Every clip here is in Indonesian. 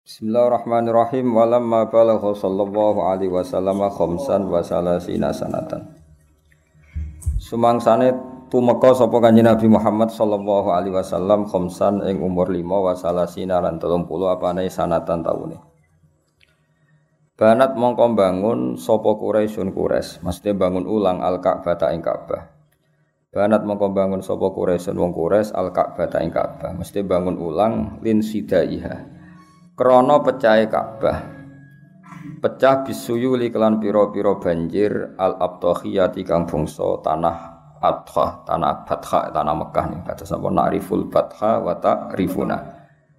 Bismillahirrahmanirrahim. Walamma balagha sallallahu alaihi wasallam khamsan wa salasina sanatan. Sumangsane tumeka sapa Kanjeng Nabi Muhammad sallallahu alaihi wasallam khamsan ing umur 5 wa salasina lan 30 apane sanatan taune. Banat mongko bangun sapa Quraisyun Quraisy, mesti bangun ulang Al-Ka'bah ta ing Ka'bah. Banat mongko bangun sapa Quraisyun wong Quraisy Al-Ka'bah ta ing Ka'bah, mesti bangun ulang lin sidaiha. Krana pecahe Ka'bah. Pecah bisuyuli kelan pira-pira banjir al-abtakhiyati kang bangsa tanah Adha, tanah Batha, tanah Mekah nih. Kata sapa na'riful Batha wa ta'rifuna.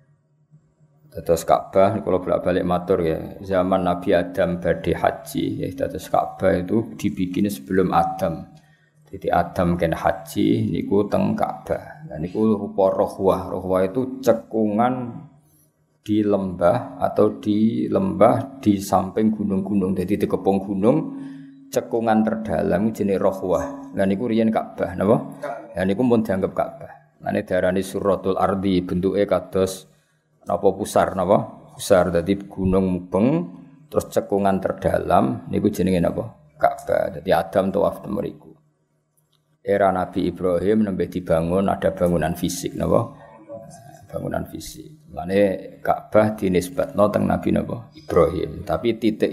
Terus Ka'bah kalau bolak-balik matur ya, zaman Nabi Adam badhe haji ya, terus Ka'bah itu dibikin sebelum Adam. Jadi Adam kan haji niku teng Ka'bah. Nah niku rupa rohwah. Rohwah itu cekungan di lembah atau di lembah di samping gunung-gunung. Jadi di kepung gunung cekungan terdalam jenis rohwah. Lah niku riyen Ka'bah napa? Lah niku pun dianggap Ka'bah. Lah nek diarani suratul ardi bentuke kados napa pusar napa? Pusar dadi gunung mubeng terus cekungan terdalam niku jenenge napa? Ka'bah. Dadi Adam tawaf mriku. Era Nabi Ibrahim nembe dibangun ada bangunan fisik napa? Bangunan fisik. Mane Ka'bah dinisbatno teng Nabi napa? Ibrahim. Tapi titik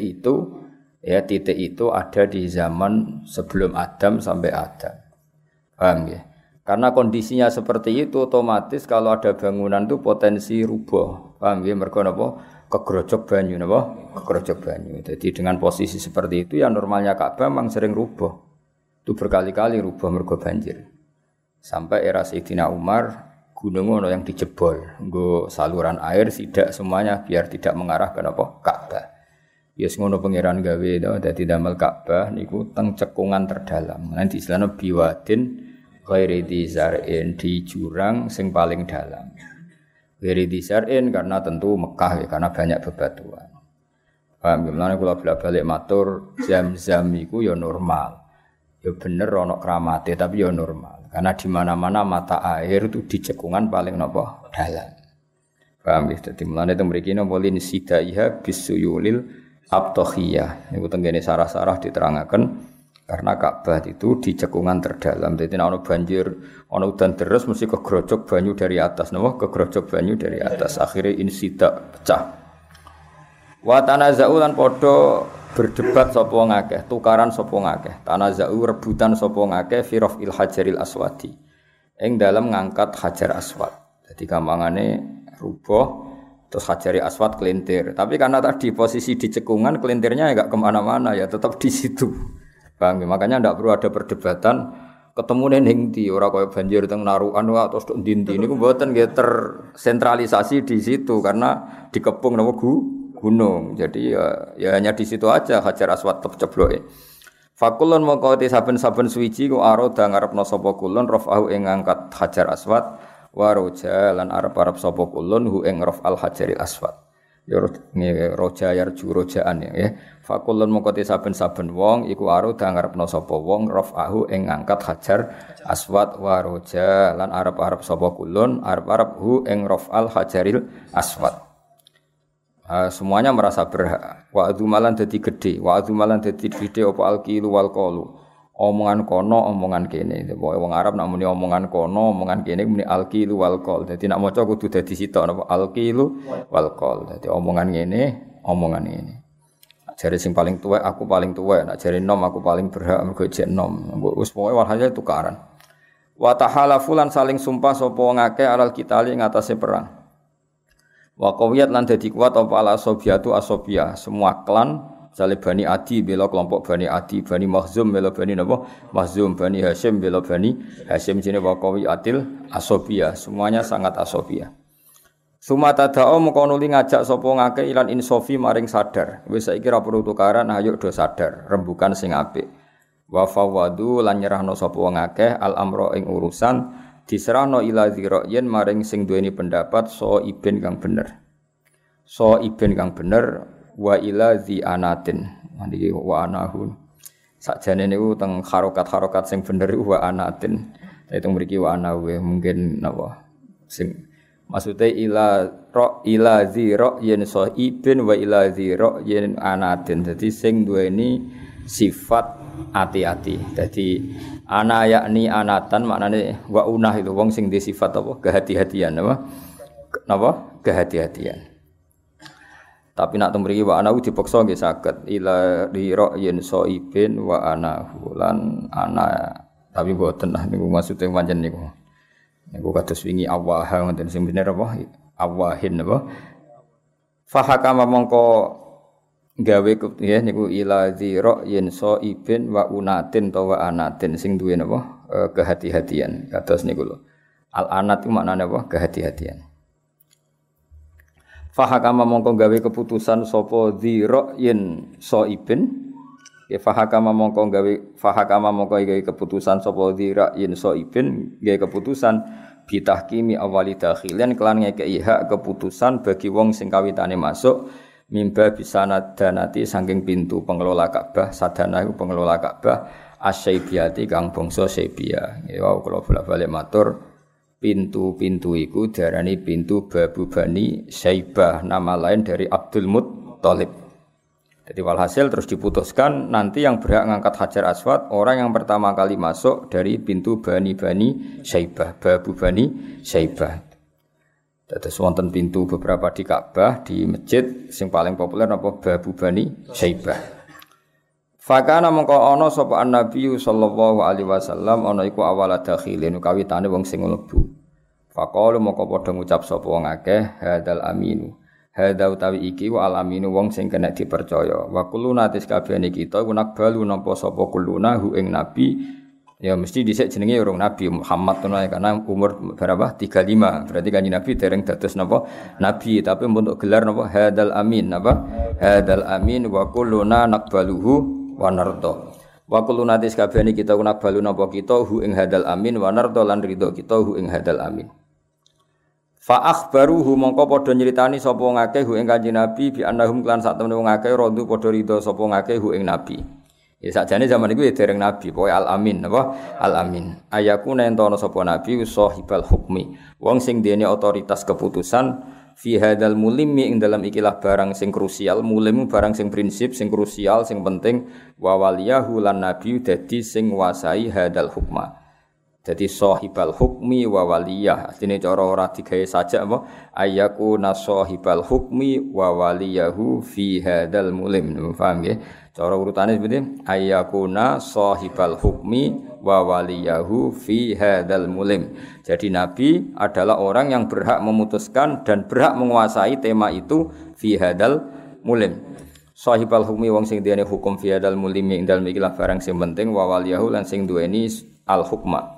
itu ada di zaman sebelum Adam sampai Adam. Paham ya? Karena kondisinya seperti itu otomatis kalau ada bangunan itu potensi rubuh. Paham ya? Mergo napa? Kegrojok banyu napa? Kegrojok banyu. Jadi dengan posisi seperti itu ya normalnya Ka'bah memang sering rubuh. Itu berkali-kali rubuh mergo banjir. Sampai era Sayyidina Umar gunung ono yang dijebol, nggo saluran air sidak semuanya biar tidak mengarah ke apa? Ka'bah. Ya ngono pangeran gawe to, dadi damel Ka'bah niku teng cekungan terdalam. Nanti istilahnya biwadin ghairi dzar'in di jurang sing paling dalam. Ghairi dzar'in karena tentu Mekah ya, karena banyak bebatuan. Paham gimana kula bolak-balik matur Zam-Zam iku ya normal. Ya bener ana kramate tapi ya normal. Karena di mana-mana mata air itu di cekungan paling napa dalam. Paham ya? Dadi mulane teng mriki napa lin sidaiha bisuyulil abtakhiyah. Niku tenggene sarah-sarah diterangaken karena Ka'bah itu di cekungan terdalam. Dadi nek ana banjir, ana udan deres mesti kegrojok banyu dari atas napa? Kegrojok banyu dari atas. Akhire insida pecah. Wa tanaza'u lan padha berdebat sapa ngakeh, tukaran sapa ngakeh. Tanaza'u rebutan sapa ngakeh fi raf'il hajaril aswadi. Ing dalam ngangkat hajar aswad. Jadi gampangane rubuh terus hajaril aswad kelintir. Tapi karena tadi posisi di cekungan kelintirnya enggak kemana mana ya tetap di situ. Bang, makanya enggak perlu ada perdebatan ketemu ning ndi ora kaya banjir teng narukan wae terus ndi-ndi niku mboten nggih tersentralisasi di situ karena dikepung napa gunung. Jadi ya hanya di situ aja Hajar Aswad cebloke. Fakulun mongko te saben-saben suwiji ku aroda ngarepno sapa kulun rafa'u ing ngangkat Hajar Aswad wa roja lan arep-arep sapa kulun hu ing raf'al Hajaril Aswad. Ya roja yarju rojaan ya. Fakulun mongko te saben-saben wong iku aroda ngarepno sapa wong rafa'u ing ngangkat Hajar Aswad wa roja lan arep-arep sapa kulun arep-arep hu ing raf'al Hajaril Aswad. Semuanya merasa berhak. Wa adzumalan dadi gedhe, wa adzumalan dadi gedhe apa alqilu wal qalu. Omongan kono, omongan kene. Pokoke wong Arab nek muni omongan kono, omongan kene muni alqilu wal qal. Dadi nek maca kudu dadi sitok napa alqilu wal qal. Dadi omongan ngene, omongan ngene. Jare sing paling tuwek aku paling tuwek, nek jare nom aku paling berhak mergo jek nom. Wis pokoke walhasil tukaran. Wa tahalafu lan saling sumpah sapa ngake alal kitali ing atase perang. Wa qawiyat lan dadi kuat apa ala asobiatu asobia semua klan misale Bani Adi bela kelompok Bani Adi, Bani Makhzum bela Bani napa? Makhzum, Bani Hasyim bela Bani Hasyim jenenge wa qawiyatil asobia, semuanya sangat asobia. Sumata da'o mengko nuli ngajak sapa ngake ilan insofi maring sadar. Wis saiki ra perlu tukaran, ayo do sadar, rembukan sing apik. Wa fawadu lan nyerahno sapa ngake al amro ing urusan diserahno ila dzira'yen maring sing duweni pendapat so iben kang bener. So iben kang bener wa ila dzi anatin. Niki wa anahu. Sakjane niku teng harokat-harokat sing bener wa anatin. Itu mriki wa anahu mungkin napa sing Maksudnya ila zira yen ibin wa ila zira yen anatin. Jadi sing duweni sifat hati-hati. Jadi ana yakni anatan maknane wa unah itu wong sing di sifat apa? Kehati-hatian apa? Napa? Kehati-hatian. Tapi nak temriki wa ana dipaksa nggih saged ila zira yen ibin wa ana lan ana tapi mboten lah niku maksude pancen niku. Niku kados wingi awaha ngoten sing bener apa? Awahin apa? Fahakama mongko gawe ya niku ila zira yen ibin wa unatin to wa anatin sing duwe napa? Kehati-hatian. Kados niku lho. Al anat itu maknane apa? Kehati-hatian. Fahakama mongko gawe keputusan sapa zira yen ibin fahakama mongko gawe keputusan sapa zira yen ibin gawe keputusan bitahkimi awali dakhilan kelan ngekeki hak keputusan bagi wong sing kawitane masuk mimba bisana danati saking pintu pengelola Ka'bah sadana iku pengelola Ka'bah asyaibiyati kang bangsa Saibiyah ya kula bolak-balik matur pintu-pintu iku diarani pintu Babu Bani Saibah nama lain dari Abdul Muttalib. Jadi walhasil terus diputuskan nanti yang berhak ngangkat Hajar Aswad orang yang pertama kali masuk dari pintu Bani Saibah, Babu Bani Saibah. Terus wonten pintu beberapa di Ka'bah, di masjid sing paling populer apa Babu Bani Saibah. Fakana mongko ana sapa Nabi sallallahu alaihi wasallam ana iku awal dakhilin kawitane wong sing mlebu. Faqalu mongko padha ngucap sapa wong akeh hadal aminu. Hadza utawi iki wa alaminu wong sing kena dipercaya. Wa kulluna tis kabehane kita kunak balu nampa sapa kulluna hu ing nabi. Ya mesti dhisik jenenge urung Nabi Muhammad karena umur berapa? 35. Berarti kanjeng Nabi dereng dados napa? Nabi, tapi untuk gelar napa? Hadzal amin napa? Hadzal amin wa kulluna naqbaluhu wa narda. Wa kulluna tis kabehane kita kunak balu napa kita hu ing hadzal amin wa narda lan ridho kita hu ing hadzal amin. Fa akhbaruhu mongko padha nyritani sapa ngakeh hu ing Kanjeng Nabi bi annahum klan sak temene wong akeh rodu padha ridho sapa ngakeh hu ing Nabi. Ya sakjane zaman iku ya dereng Nabi, pokoke al-amin napa? Al-amin. Ayakuna entono sapa Nabi sahibal hukmi. Wong sing dene otoritas keputusan fi hadzal mulimi ing dalam ikilah barang sing krusial, mulim barang sing prinsip, sing krusial, sing penting wa waliyahu lan nabi dadi sing nguasai hadzal hukma. Jadi sahibal hukmi wa waliyah. Artinya cara ora digawe saja apa? Ayakuna sahibal hukmi wa waliyahu fi hadzal mulim. Paham nggih? Cara urutane seperti ayakuna sahibal hukmi wa waliyahu fi hadzal mulim. Jadi nabi adalah orang yang berhak memutuskan dan berhak menguasai tema itu fi hadzal mulim. Sahibal hukmi wong sing duweni hukum fi hadzal mulim ing dalem ikilah barang sing penting wa waliyahu lan sing duweni al hukma.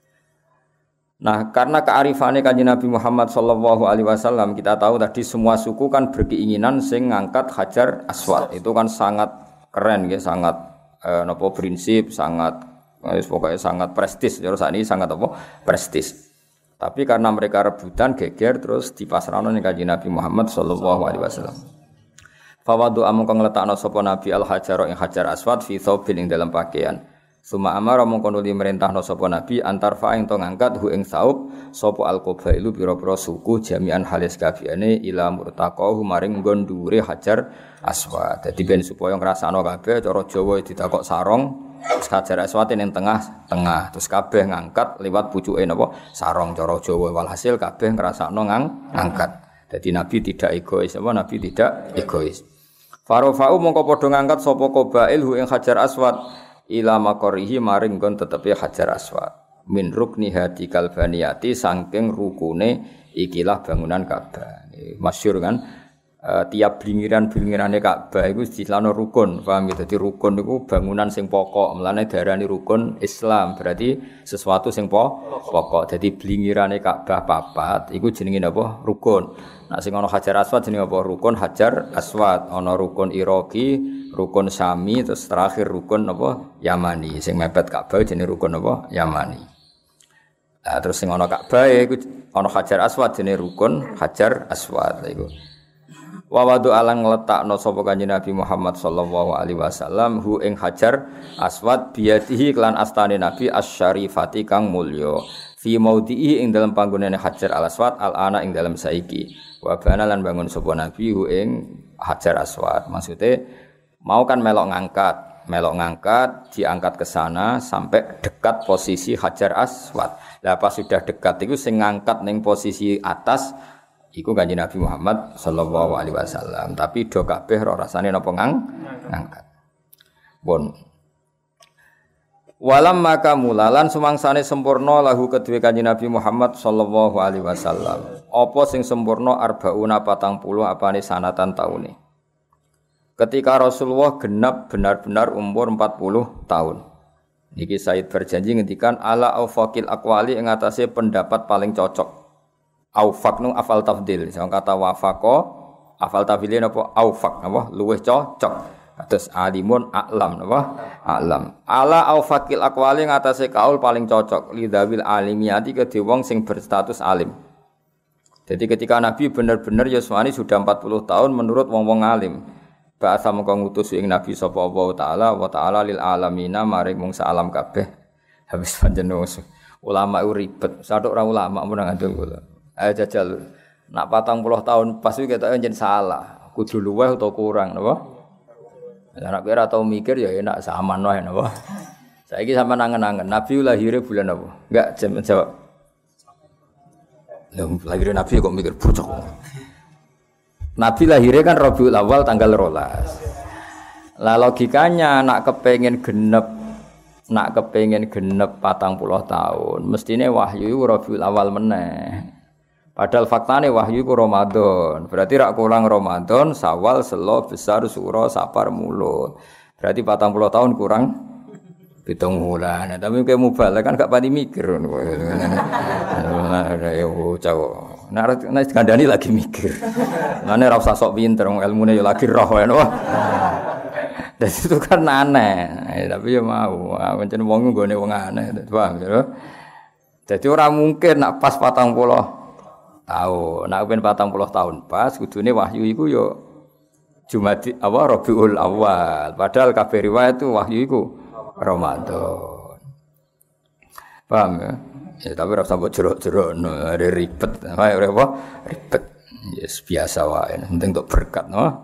Nah, karena kearifannya Kanjeng Nabi Muhammad sallallahu alaihi wasallam, kita tahu tadi semua suku kan berkeinginan sing ngangkat Hajar Aswad. Itu kan sangat keren ya, sangat prinsip, sangat pokoknya sangat prestis. Terus saat ini sangat prestis. Tapi karena mereka rebutan geger terus dipasrahno ning Kanjeng Nabi Muhammad sallallahu alaihi wasallam. Fawadu amung ngletakno sapa Nabi al-Hajar ing Hajar Aswad fi thawbin ing dalam pakaian. Suma amara mongko nuli merintahno sapa nabi antar fa ing to ngangkat hu ing saub sapa al-qabailu pira-pira suku jami'an halis kabehane ila murtaqahu maring nggon dhuwure Hajar Aswad. Dadi ben supaya ngrasakno kabeh cara Jawa ditakok sarong terus Hajar Aswad ning tengah terus kabeh ngangkat liwat pucuke napa sarong cara Jawa walhasil kabeh ngrasakno ngangkat. Dadi nabi tidak egois nabi tidak egois. Farofa'u mongko padha ngangkat sapa qabail hu ing Hajar Aswad ila makorihi maring gon tetepi Hajar Aswad min rukni hati kalbaniyati saking rukune ikilah bangunan Ka'bah. Masyhur kan tiap blingiran-blingirane Ka'bah iku istilahno rukun, paham gitu. Dadi rukun niku bangunan sing pokok, mlane diarani rukun Islam, berarti sesuatu sing pokok. Dadi blingirane Ka'bah papat iku jenenge napa? Rukun. Nah sing ana Hajar Aswad jenenge apa? Rukun Hajar Aswad. Ana rukun Iraqi, rukun Syami, terus terakhir rukun apa? Yamani. Sing mepet Ka'bah jenenge rukun apa? Yamani. Nah terus sing ana Ka'bah iku ana Hajar Aswad jenenge rukun Hajar Aswad iku. Wa wadu alang ngletakno sapa Kanjeng Nabi Muhammad sallallahu alaihi wasallam hu ing Hajar Aswad biyadihi kelan astane Nabi asy-syarifati kang mulya fi maudhi'i ing dalam panggonane Hajar Al-Aswad al-ana ing dalam saiki wa bana lan bangun sapa nabi ing Hajar Aswad maksude mau kan melok ngangkat diangkat ke sana sampai dekat posisi Hajar Aswad lah pas sudah dekat itu sing ngangkat ning posisi atas iku Kanjeng Nabi Muhammad sallallahu alaihi wasallam tapi do kabeh ora rasane napa ngangkat bon walam maka mulalan sumangsane sempurna lahu kedue Kanjeng Nabi Muhammad sallallahu alaihi wasallam. Apa sing sempurna arbauna 40 apane sanatan taune. Ketika Rasulullah genap benar-benar umur 40 tahun. Niki Said berjanji ngendikan ala aufaqil aqwali ing atase pendapat paling cocok. Aufaq nu afal tafdil. Sing kata wafaqa afal tafdil napa aufaq napa luwih cocok. Atas alimun a'lam napa a'lam ala aufaqil aqwali ngatasé kaul paling cocok lidawil alimiyati kedhe wong sing berstatus alim. Jadi ketika Nabi benar-benar yuswani sudah 40 tahun menurut wong-wong alim bahasa mengko ngutus ing Nabi sapa wa ta'ala lil alamina maring wong salam kabeh habis panjenengan ulama ribet sadok ora ulama mun ngandel kula ayo jajal nak 40 tahun pas iki ketok njen salah kudu luweh utawa kurang napa. Anak kira tau mikir ya enak saman wae napa. Saiki sampean angen-angen Nabi lahir bulan apa? Enggak jawab. Lah lahir Nabi kok mikir bocok. Nabi lahirnya kan Rabiul Awal tanggal 12. Lah logikanya nak kepengin genep 40 tahun, mestine wahyu iku Rabiul Awal meneh. Padahal faktane wahyu ku Ramadan. Berarti rak kurang Ramadan, Syawal, Selo, Besar, Suro, Safar, Mulut. Berarti 40 tahun kurang 7 bulan. Tapi kayak mubalek kan gak pati mikir. Ya cowok. Nek kandhani lagi mikir. Mane ora usah sok pinter, ilmune ya lagi roh wae. Dan itu kan aneh. Tapi ya mau, pancen wong nggone wong aneh, paham ya. Jadi ora mungkin nak pas 40 tahun, nak ben 40 tahun pas kudune wahyu iku yo Jumadi Rabiul Awal. Padahal kabeh riwayat itu wahyu iku Ramadan. Paham ya? Ya tapi ora sampe jero-jero ribet. Wae apa? Ribet. Yes, biasa wae. Penting untuk berkat, no.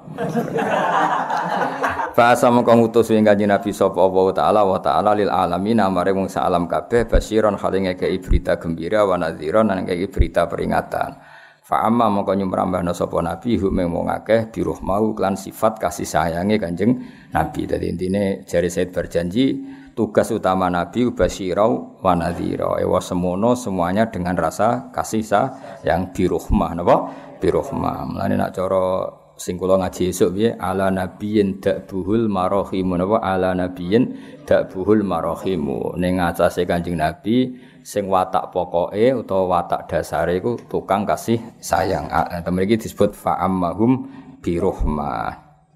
Bahasa mengko ngutus ing Kanjeng Nabi sapa wa ta'ala lil alamin amare wong sak alam kabeh basyiron halinge kei berita gembira wa nadhiron lan kei berita peringatan. Fa amma mengko nyumrambahna sapa nabi hum wong akeh dirahmau lan sifat kasih sayange Kanjeng Nabi. Dadi intine jare Said berjanji tugas utama nabi basyirau wa nadhira. Ewa semono semuanya dengan rasa kasih sayang birahmah napa? Birahmah. Mulane nek cara sing kula ngaji esuk piye ala nabiyyin da'buhul marahim napa ala nabiyyin da'buhul marahim ning atase Kanjeng Nabi sing watak pokoke utawa watak dasare iku tukang kasih sayang. Temen iki disebut fa'ammahum birahmah.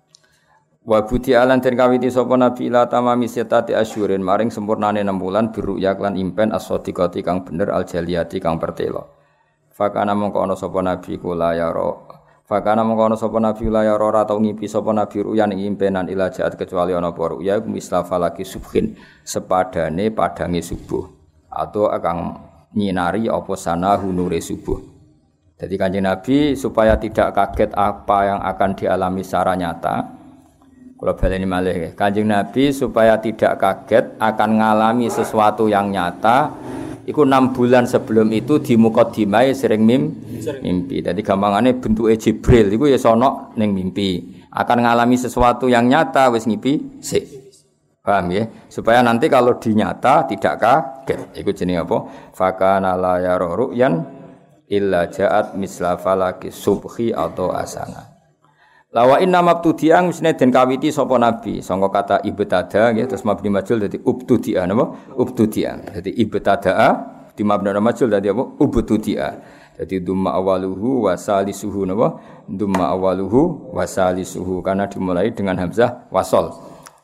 Wa buti alan den kawiti sapa nabi ila tamami setati asyurin maring sempurnane 6 bulan biruyak lan impen as-sadiqati kang bener al-jaliyati kang pertelo. Fakana mongko ana sapa nabi kula ya Fakana mengkono sapa nabi la ya ora tau ngipi sapa nabi ruyan ing impenan ila jaat kecuali ana apa ruya misla falaki subhin sepadane padange subuh atau akan nyinari apa sana hunure subuh. Jadi Kanjeng Nabi supaya tidak kaget apa yang akan dialami secara nyata. Kalau baleni malih Kanjeng Nabi supaya tidak kaget akan ngalami sesuatu yang nyata. Iku 6 bulan sebelum itu di mukadimah sering mimpi. Jadi gampangane bentuke Jibril iku ya sono ning mimpi. Akan ngalami sesuatu yang nyata wis ngipi sik. Paham ya? Supaya nanti kalau dinyata tidak kaget. Iku jenenge apa? Fakana la yara ru'yan illa ja'at misla falaki subhi atau asana. Lawa inna mabtudi'an misne den kawiti sapa nabi sangka kata ibtada nggih terus mabni majul dadi ubtudi'a napa ubtudi'a dadi ibtada di mabni majul dadi apa ubtudi'a dadi dumma awaluhu wa salisuhu napa dumma awaluhu wa salisuhu karena dimulai dengan hamzah wasol.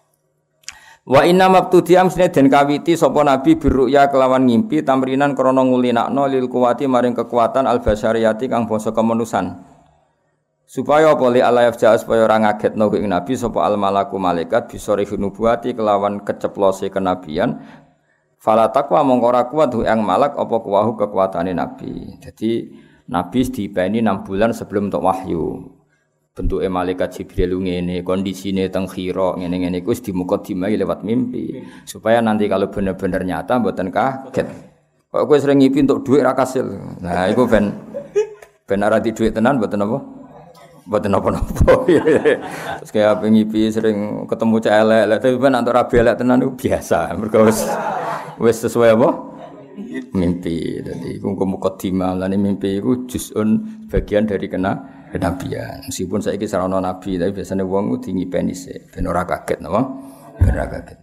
Wa inna mabtudi'a misne den kawiti sapa nabi birru'ya kelawan ngimpi tamrinan krana ngulinakno lil kuwati maring kekuatan al basyariyati kang bangsa kemanusan. Supaya boleh alayaf jahat supaya orang ngagetno ing nabi sapa al malaku malaikat bisori nubuwati kelawan keceplose kenabian Fala taqwa mongko ora kuat yang malak apa kuwahu kekuatane nabi. Jadi nabi dipeni 6 bulan sebelum untuk wahyu. Bentuke malaikat Jibril ngene, kondisine teng khira ngene-ngene iku wis dimukadimai lewat mimpi. Supaya nanti kalau bener-bener nyata mboten kaget. Kok kowe sering ngipi untuk duit ra kasil. Nah, iku ben ora di duit tenan mboten apa? Mboten napa-napa. Terus kaya ngipi sering ketemu cah elek, tapi ben antuk rabi elek tenan iku biasa. Mergo wis sesuai apa? Mimpi. Dadi iku mukadimah lan mimpi iku juz'un bagian dari kenabian. Meskipun saiki sarana nabi, tapi biasanya wong ngipeni sik ben ora kaget napa? Ben ora kaget.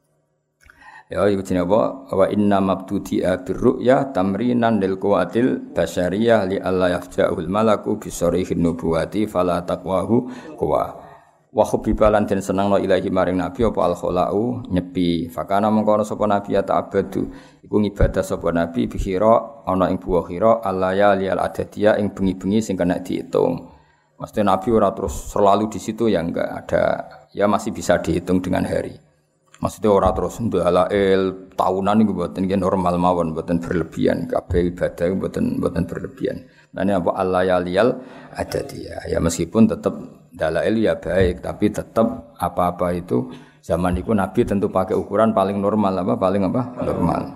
Ya iku jenenge apa? Wa inna mabtudi'a birru'ya tamrinan lil quwatil basyariyah li alla yafja'ul malaku bi sarihin nubuwati fala taqwahu quwa. Wa hubbibalan den senengno ilahi maring nabi apa al khalau nyepi. Fakana mengkono sapa nabi ya ta'abbadu. Iku ngibadah sapa nabi bi khira ana ing buah khira alaya liyal adadiyah ing bengi-bengi sing kena diitung. Mesti nabi ora terus selalu di situ ya enggak ada, ya masih bisa dihitung dengan hari. Maksudnya ora terus ndalail tahunan niku mboten nggih normal mawon, mboten berlebihan. Kabeh ibadah mboten berlebihan. Nah ini apa al-layaliyal adadiyah. Ya meskipun tetap dalail ya baik, tapi tetap apa-apa itu zaman itu Nabi tentu pakai ukuran paling normal normal.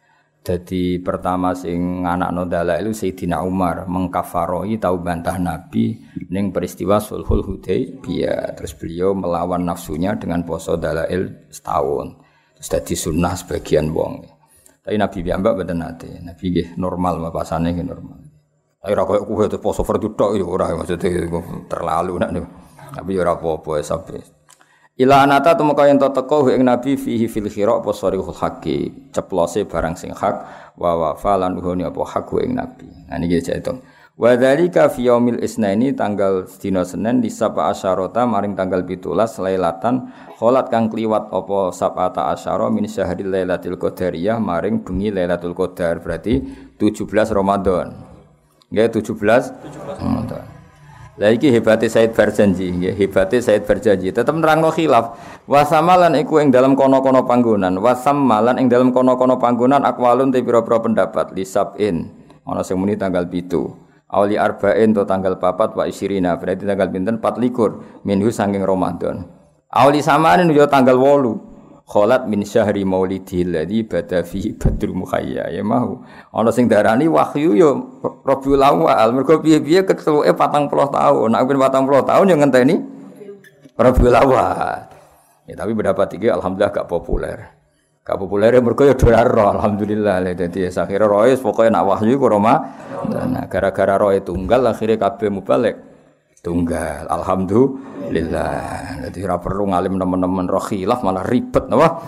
Jadi pertama sing anakno dalail Sayyidina Umar mengkafaroi tau bantah Nabi ning peristiwa Sulhul Hudaybiyah. Terus beliau melawan nafsunya dengan poso dalail setahun. Terus dadi sunnah sebagian wong. Tapi Nabi piyambak mboten nate. Nabi nggih normal mapasane nggih normal. Tapi ora koyo kuwi poso fardu tok ya ora maksudnya terlalu nek. Tapi ora apa-apa sampe. Ila anata tumeka yen teko ing nabi fihi fil khira apa sarihul haqi ceplose barang sing hak wa falan huni apa hak ing nabi. Nah niki jaitung. Wa dzalika fi yaumil isnaini tanggal dina Senin di sapa asyarata maring tanggal 17 lailatan kholat kang kliwat apa sabata asyara min syahril lailatul qadariyah maring bengi lailatul qadar berarti 17 Ramadan. Nggih 17 Ramadan. Lah iki hebate Said Barjanji nggih, hebate Said Barjanji tetep nerangno khilaf. Wasamalan iku ing dalam kono-kono panggonan, wasamalan ing dalam kono-kono panggonan akwalun te pira-pira pendapat lisabin. Ana sing muni tanggal 7. Auli arba'in to tanggal 4 wa isyrina, berarti tanggal pinten 24 minhu saking Ramadan. Auli samanin yo tanggal 8. Kholat min syahri maulidil ladzi bada fi badrul mukhayya ya mau ana sing darani wahyu yo Rabiul Awal mergo piye-piye ketuke 40 tahun nek ben 40 tahun yo ngenteni Rabiul Awal ya tapi pendapat iki alhamdulillah gak populer mergo yo ora alhamdulillah dadi akhire roe pokoke nek wahyu ku Roma nah gara-gara roe tunggal akhire kabeh mubalik tunggal alhamdulillah dadi ora perlu ngalim teman-teman roh khilaf malah ribet napa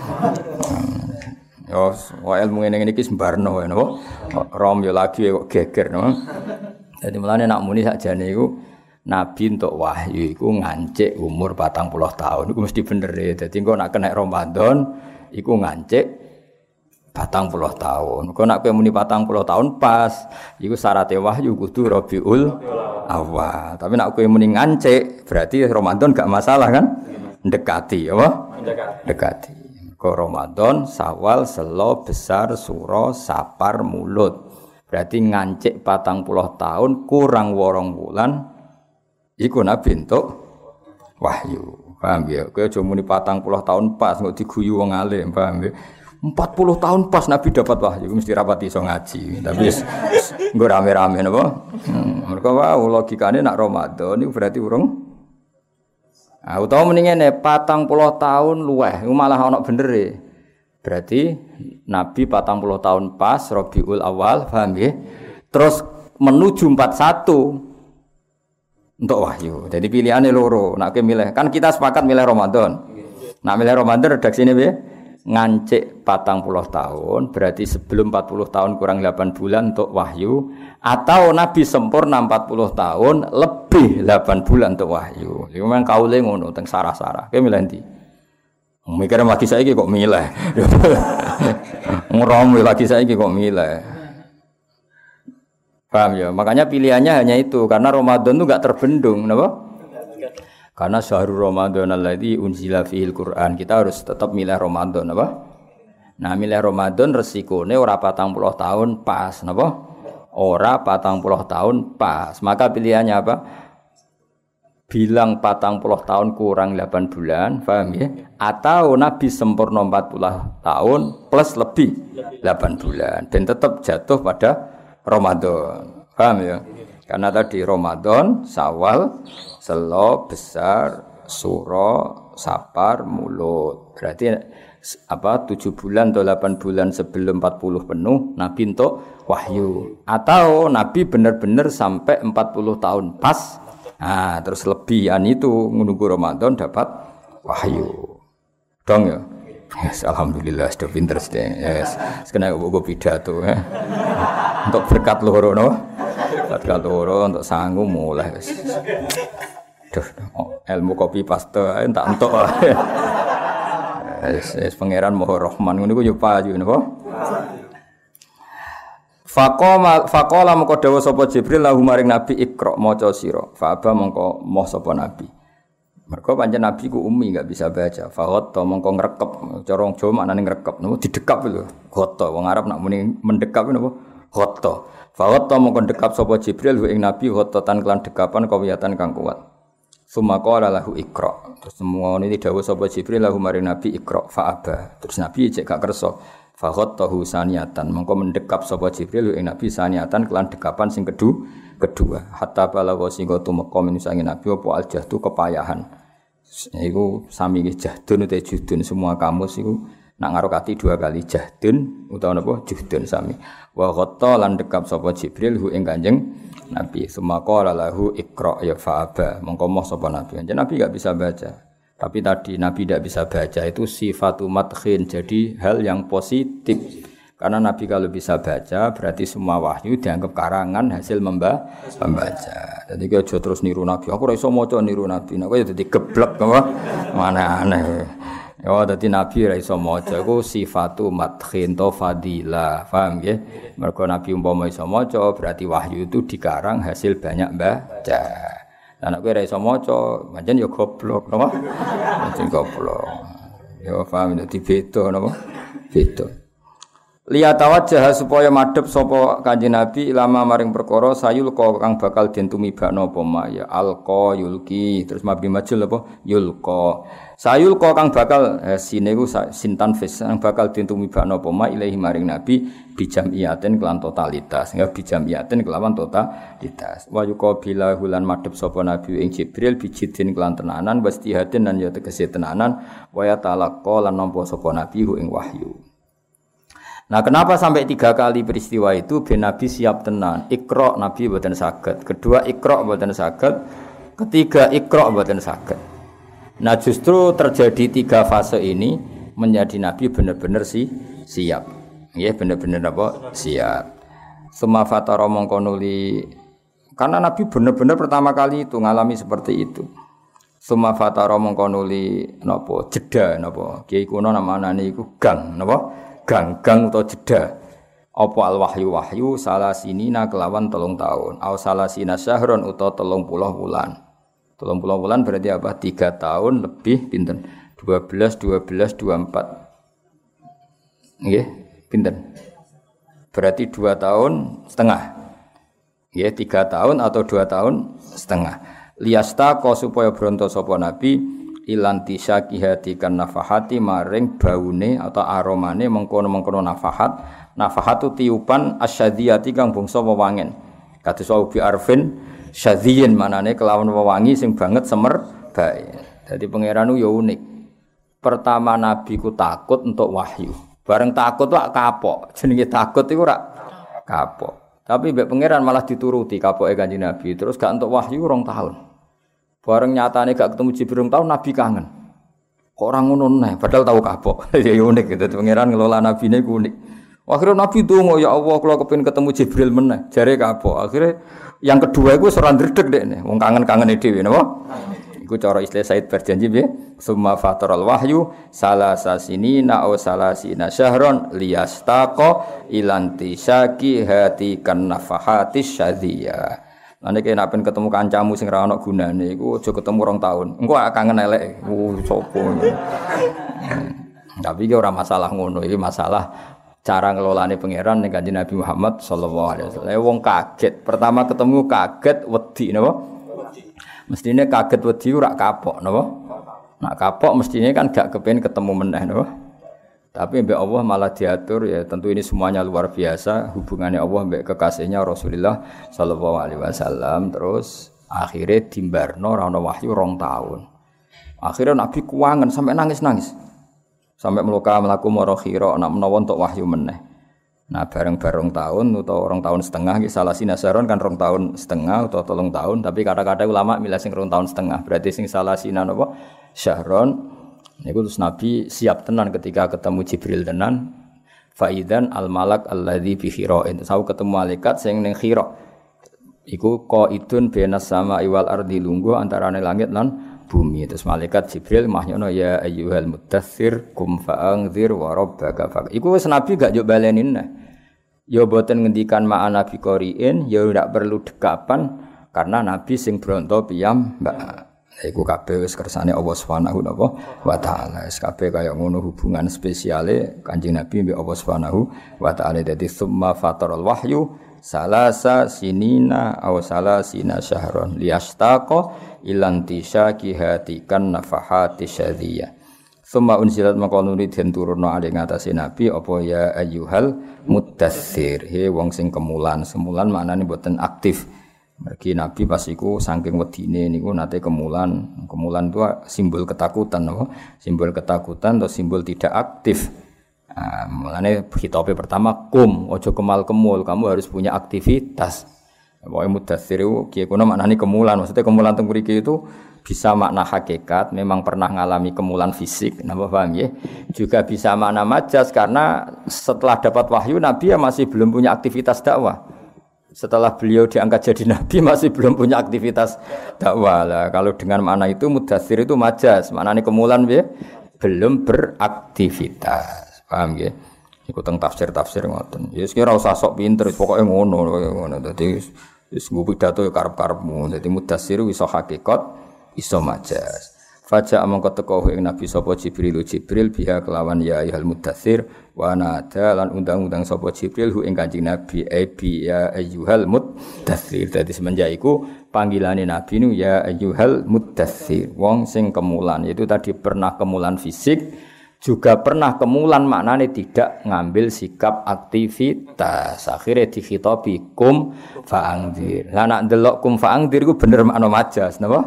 yo wae ilmu ngene iki sembarno wae napa rom yo lagi kok geger napa dadi mulane nak muni sakjane iku nabi entuk wahyu iku ngancik umur 40 tahun iku mesti bener e dadi engko nak kena Ramadan iku ngancik 40 tahun. Kok nek kowe muni 40 tahun pas, iku syaraté wahyu kudu Rabiul Awal. Tapi nek kowe muni ngancik, berarti Ramadan gak masalah kan? Ndekati, apa? Ndekati. Kok Ramadan, Syawal, Selo, Besar, Suro, Sapar, Mulut. Berarti ngancik 40 tahun kurang 8 bulan iku nabi entuk wahyu. Paham ya? Kowe aja muni 40 tahun pas kok diguyu wong alim, paham ya? 40 tahun pas Nabi dapat wahyu mesti rapati iso ngaji. Tapi nggo rame-rame napa? Mergo wae logikane nak Ramadan niku berarti urung. Ah utawa mendingane 40 tahun luweh iku malah ana bener e. Berarti Nabi 40 tahun pas Rabiul Awal, paham nggih? Terus menuju 41 untuk wahyu. Jadi pilihane loro. Nek milih kan kita sepakat milih Ramadan. Nak milih Ramadan redaksine piye? Ngancik 40 tahun berarti sebelum 40 tahun kurang 8 bulan untuk wahyu atau Nabi sempurna 40 tahun lebih 8 bulan untuk wahyu. Iku memang kaule ngono teng sarah-sarah. Kowe milih ndi? Mikir lagi saiki kok milih. Ngerom lagi saiki kok milih. Paham ya? Makanya pilihannya hanya itu karena Ramadan itu enggak terbendung, napa? Karena syahrul Ramadan alladzi unzila fihil Qur'an. Kita harus tetap milih Ramadan apa? Nah, milih Ramadan resikone ora 40 tahun pas, napa? Ora 40 tahun pas. Maka pilihannya apa? Bilang 40 tahun kurang 8 bulan, paham ya? Atau Nabi sempurna 40 tahun plus lebih 8 bulan dan tetap jatuh pada Ramadan. Paham ya? Karena tadi Ramadan, Syawal, Selo, Besar, Suro, Sapar, Mulut. Berarti 7 bulan atau 8 bulan sebelum 40 penuh Nabi untuk wahyu. Atau Nabi benar-benar sampai 40 tahun pas. Nah, terus lebihan itu menunggu Ramadan dapat wahyu. Dong ya. Yes, alhamdulillah sudah pinter sudah. Yes, kena gue pidato ya. Untuk berkat loro no. Berkat loro untuk sanggup mulai. Duh, ilmu kopi paste tak entuk. Es pangeran Maha Rahman ngono iku yo payu napa? Faqala mengko dawuh sapa Jibril lahu maring Nabi Iqra maca sira. Fa aba mengko moh sapa Nabi. Mergo pancen Nabi ku umi enggak bisa baca. Fa ghatta mengko ngrekep cara wong Jawa maknane ngrekep napa didekap lho. Ghatta wong Arab nak muni mendekap napa? Ghatta. Fa ghatta mengko ndekap sapa Jibril ing Nabi ghattatan kelan dekapan kawiyatan kang kuat. Sumaqala lahu Iqra. Terus semua ini dawuh sapa Jibril lahu maring Nabi Iqra fa aba. Terus Nabi cek gak kersa. Fa ghattahu saniyatan. Mengko mendekap sapa Jibril ing Nabi saniyatan kelan dekapan sing kedua. Hatta balagha singgo tumeka menusange Nabi apa aljahtu kepayahan. Iku sami jahdun utawa juhdun semua kamus iku nak ngarokati 2 kali jahdun utawa napa juhdun sami. Wa ghatta lan dekap sapa Jibril hu ing Kanjeng Nabi sumaqala lahu Iqra ya fa'aba mongko moh sapa Nabi. Jadi Nabi enggak bisa baca. Tapi tadi Nabi tidak bisa baca itu sifatu madkhin. Jadi hal yang positif. Karena Nabi kalau bisa baca berarti semua wahyu dianggap karangan hasil membaca. Jadi kita aja terus niru Nabi. Aku ora iso maca niru Nabi. Nek ya dadi geblek apa? Mana aneh. Ya dadi Nabi ora iso maca iku sifatu madkhin to fadilah. Paham nggih? Mergo Nabi umpama iso maca berarti wahyu itu dikarang hasil banyak baca. Lah nek kowe ora iso maca, pancen ya goblok, napa? Pancen goblok. Ya paham dadi beda napa? Beda. Liyatawajjah supaya madhep sapa Kanjeng Nabi ilama maring perkara sayulqa kang bakal den tumibakno apa ma ya alqa yulki terus mabni majul apa yulqa sayulqa kang bakal sine iku sintan fis kang bakal den tumibakno apa ma ilahi maring Nabi bijamiaten kelan totalitas ya bijamiaten kelawan totalitas wa yuqabila hulan madhep sapa Nabi ing Jibril bijidin kelan tenanan wastihatin lan ya tegese tenanan wa ya talaqqa lan nampa sapa Nabi ing wahyu. Nah, kenapa sampai 3 kali peristiwa itu ben Nabi siap tenan. Iqra Nabi mboten saged. Kedua Iqra mboten saged. Ketiga Iqra mboten saged. Nah, justru terjadi 3 fase ini menjadi Nabi benar-benar siap. Nggih, benar-benar apa? Siap. Summa fatara mongko nuli karena Nabi benar-benar pertama kali itu ngalami seperti itu. Summa fatara mongko nuli napa? Jeda napa? Kiai kuno namanane iku gang napa? Gang atau jeda apa al wahyu salasinina kelawan 3 tahun au salasina syahron utawa 30 bulan 30 bulan berarti apa 3 tahun lebih pinten 12 24 nggih pinten berarti 2 tahun setengah nggih 3 tahun atau 2 tahun setengah liyasta ko supaya bronto sapa nabi ilanti syakihati kan nafahati maring baune atau aromane mengkono-mengkono nafahat itu tiupan asyadiyati kang bangsa wewangen kados ubi arfin syadiyin manane kelawan wewangi sing banget semer bae dadi pangeran yo unik pertama nabi ku takut untuk wahyu bareng takut wak kapok jenenge takut iku ora kapok tapi mbek pangeran malah dituruti kapoke Kanjeng Nabi terus gak untuk wahyu 2 tahun. Bareng nyatane gak ketemu Jibril tahun Nabi kangen. Kok ora ngono neh padahal tahu kapok. Ya unik gitu pangeran ngelola nabine ku unik. Akhirnya Nabi donga ya Allah kula kepengin ketemu Jibril meneh. Jare kapok. Akhirnya yang kedua iku ora ndredeg dekne. Wong kangen-kangene dhewe napa? Iku cara istilah Said berjanji piye? Summa fataral wahyu salasasinina aw salasina syahron liyastaqa ilanti syaki hati kan nafahatis syadiyah. Nek nek pen ketemu kancamu sing ra ono gunane iku aja ketemu 2 tahun. Engko kangen elek. Sopo. Tapi iki ora masalah ngono, iki masalah cara ngelolane pangeran ning Kanjeng Nabi Muhammad sallallahu alaihi wasallam. Wong kaget, pertama ketemu kaget wedi napa? Mestine kaget wedi ora kapok napa? Nak kapok mestine kan gak kepen ketemu meneh napa? Tapi mbek Allah malah diatur ya tentu ini semuanya luar biasa hubungannya Allah mbek kekasihnya Rasulullah sallallahu alaihi wasallam terus akhirnya dimbarno ora ana wahyu 2 tahun. Akhirnya Nabi kuwangen sampai nangis-nangis. Sampai mlaku mara khira nek menawa entuk wahyu meneh. Nah bareng-bareng tahun utawa 2 tahun setengah iki salah sinasaron kan 2 tahun setengah utawa 3 tahun tapi kata-kata ulama milih sing 2 tahun setengah berarti sing salah sinan apa syahron niku terus Nabi siap tenan ketika ketemu Jibril tenan faidan al malak alladzi bi khira'in terus ketemu malaikat sing ning khira iku qaidun benas sama iwal ardi lungguh antarane langit lan bumi terus malaikat Jibril mahnyono ya ayyuhal mudaththir kum fa'anzir wa rabbaka fa iku wis Nabi gak njuk balenin nah ya boten ngendikan ma'ana bi qari'in ya ndak perlu dekapan karena Nabi sing bronto piyam mbak iku kabeh wis kersane Allah Subhanahu wa taala wis kabeh kaya ngono hubungan spesiale Kanjeng Nabi mbek Allah Subhanahu wa taala dadi summa fataral wahyu salasa sinina aw salasina syahron liyastaqa ilantisaki hatikan nafahati syadiyah summa unsilat maqaluni den turunno ali ngatasé nabi apa ya ayyuhal muddatsir he wong sing kemulan semulan maknane mboten aktif mergi nabi pas iku saking wedine niku nate kemulan itu simbol ketakutan apa simbol ketakutan atau simbol tidak aktif. Mulane khitabe pertama kum aja kemal-kemul kamu harus punya aktivitas. Pokoke mudatsir iku kiye kono maknane kemulan maksudnya kemulan teng mriki itu bisa makna hakikat memang pernah ngalami kemulan fisik napa paham ya juga bisa makna majas karena setelah dapat wahyu nabi ya masih belum punya aktivitas dakwah. Setelah beliau diangkat jadi nabi masih belum punya aktivitas dakwah lah. Kalau dengan makna itu mudatsir itu majas maknane kemulan ya belum beraktivitas. Paham nggih? Iku teng tafsir-tafsir ngoten. Ya wis kira usah sok pinter, pokoke ngono. Dadi wis nggo pidato ya karep-karepmu. Dadi mudatsir iso hakikat, iso majas. Faja mongko teko ing Nabi sapa Jibril biha kelawan ya ayyuhal mudatsir wa nada lan undang-undang sapa Jibril hu ing Kanjeng Nabi bi ya ayyuhal mudatsir. Dadi semenjak iku panggilane Nabi nu ya ayyuhal mudatsir. Wong sing kemulan itu tadi pernah kemulan fisik juga pernah kemulan maknane tidak ngambil sikap aktivitas akhirnya dikhitabi kum fa'angdir lah nak ndelok kum fa'angdir iku bener makna majas napa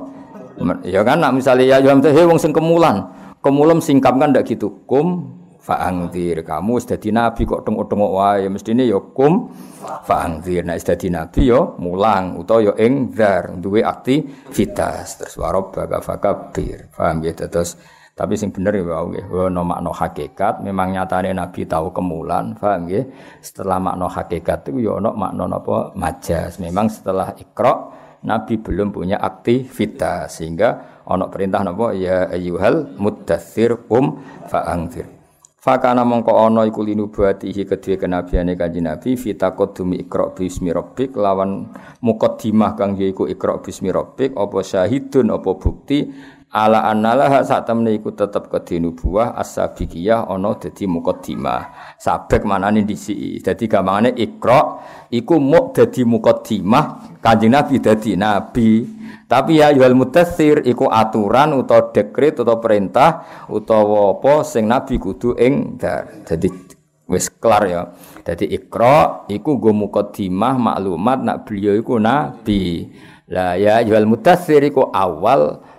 ya kan nak misale ya wong sing kemulan singkap kan ndak gitu kum fa'angdir kamu wis dadi nabi kok tengok-tengok wae mestine ya kum fa'angdir nek wis dadi nabi ya mulang utawa ya engzar duwe aktivitas terus warabbaka fakabir paham ya terus tapi sing bener ya wae nggih ono makna hakikat memang nyatane nabi tahu kemulan paham nggih setelah makna hakikat itu ya ono makna napa majas memang setelah Iqra nabi belum punya aktivitas sehingga ono perintah napa ya ayyuhal muddatsir fa'anzir fakana mongko ono iku linubuatihi kedue kenabiane kanjeng nabi fitaqaddumi Iqra bismi rabbik lawan muqaddimah kang yaiku Iqra bismi rabbik apa syahidun apa bukti ala annalah sak temne iku tetep kedinubuah as-sabiqiyah ana dadi muqaddimah sabek manane dhisiki dadi gampangane Iqra iku muk dadi muqaddimah kanjeng Nabi dadi nabi tapi ya ayyuhal mudatsir iku aturan utawa dekret utawa perintah utawa apa sing nabi kudu engdar dadi wis kelar ya dadi Iqra iku nggo muqaddimah maklumat nak beliau iku nabi lah ya ayyuhal mudatsir iku awal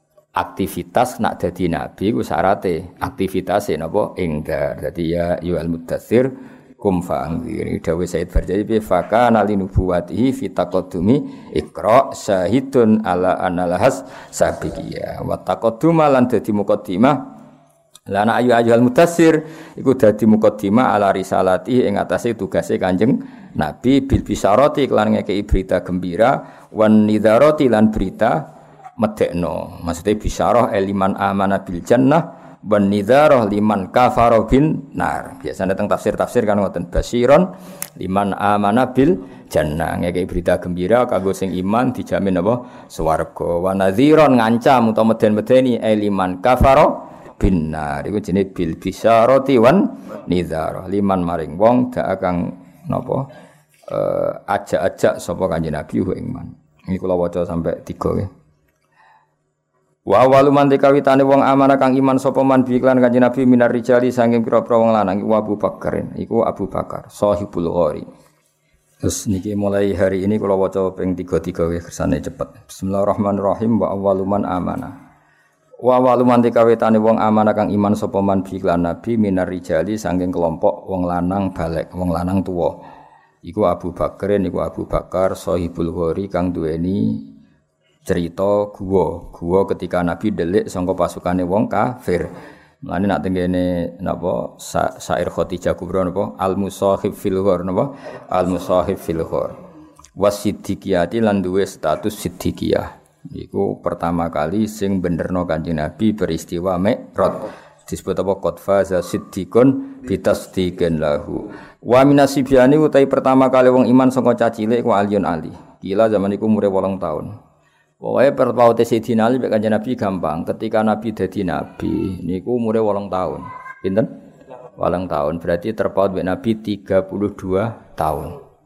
aktivitas nak dadi nabi ku syarate aktivitase napa enggar dadi ya ayyuhal mudatsir kum fa'anzir dawuh Said Barjali bi fakana linubuwatihi fi taqaddumi Iqra syahidun ala analahas sabiqiyah wa taqadduma lan dadi muqaddimah lan ayyuhal mudatsir iku dadi muqaddimah ala risalati ing atase tugase Kanjeng Nabi bil bisyarati lan ngekeki berita gembira wan nidharati lan berita medekno maksudnya bisyarah liman amana bil jannah wan nidharah liman kafara bin nar biasane teng tafsir-tafsir kan ngoten basyiron liman amana bil jannah ngekeki berita gembira kanggo sing iman dijamin apa swarga wa nadhiron ngancam utawa meden-medeni liman kafara binar iku jenenge bil bisyarati wan nidhar liman maring wong dak kang napa ajak-ajak sapa Kanjeng Nabi ing man. Iki kula waca sampai 3 nggih. Wa awalu man kawitane wong amanah kang iman sapa man bi iklan Kanjeng Nabi minar rijali saking pira-pira wong lanang iku Abu Bakar. Iku Abu Bakar sahibul ghari. Terus niki mulai hari ini kula waca ping 3 nggih kersane cepet. Bismillahirrahmanirrahim wa awalu man amanah. Wa awalu man kawitane wong amanah kang iman sapa man bi iklan Nabi minar rijali saking kelompok wong lanang balek, wong lanang tuwa. Iku Abu Bakar niku Abu Bakar sahibul ghari kang duweni cerita guwa ketika Nabi delik sangka pasukane wong kafir. Mulane nak tengene napa syair Khadijah Kubra napa al musahib fil ghar napa al musahib fil ghar. Wasiddiqiyati lan duwe status siddiqiyah. Iku pertama kali sing benerno Kanjeng Nabi peristiwa Mi'raj. Disebut apa qadfa za siddiqun bitasdiqin lahu. Wa minasibyani utai pertama kali wong iman sangka cacilik ku Aliun Ali. Gila zaman iku umure 8 tahun. Pokoke perpaute Sayyidina Ali mek Kanjeng Nabi gampang. Ketika Nabi dadi nabi niku umure 8 tahun. Pinten? 8 tahun. Berarti terpaut mek Nabi 32 tahun.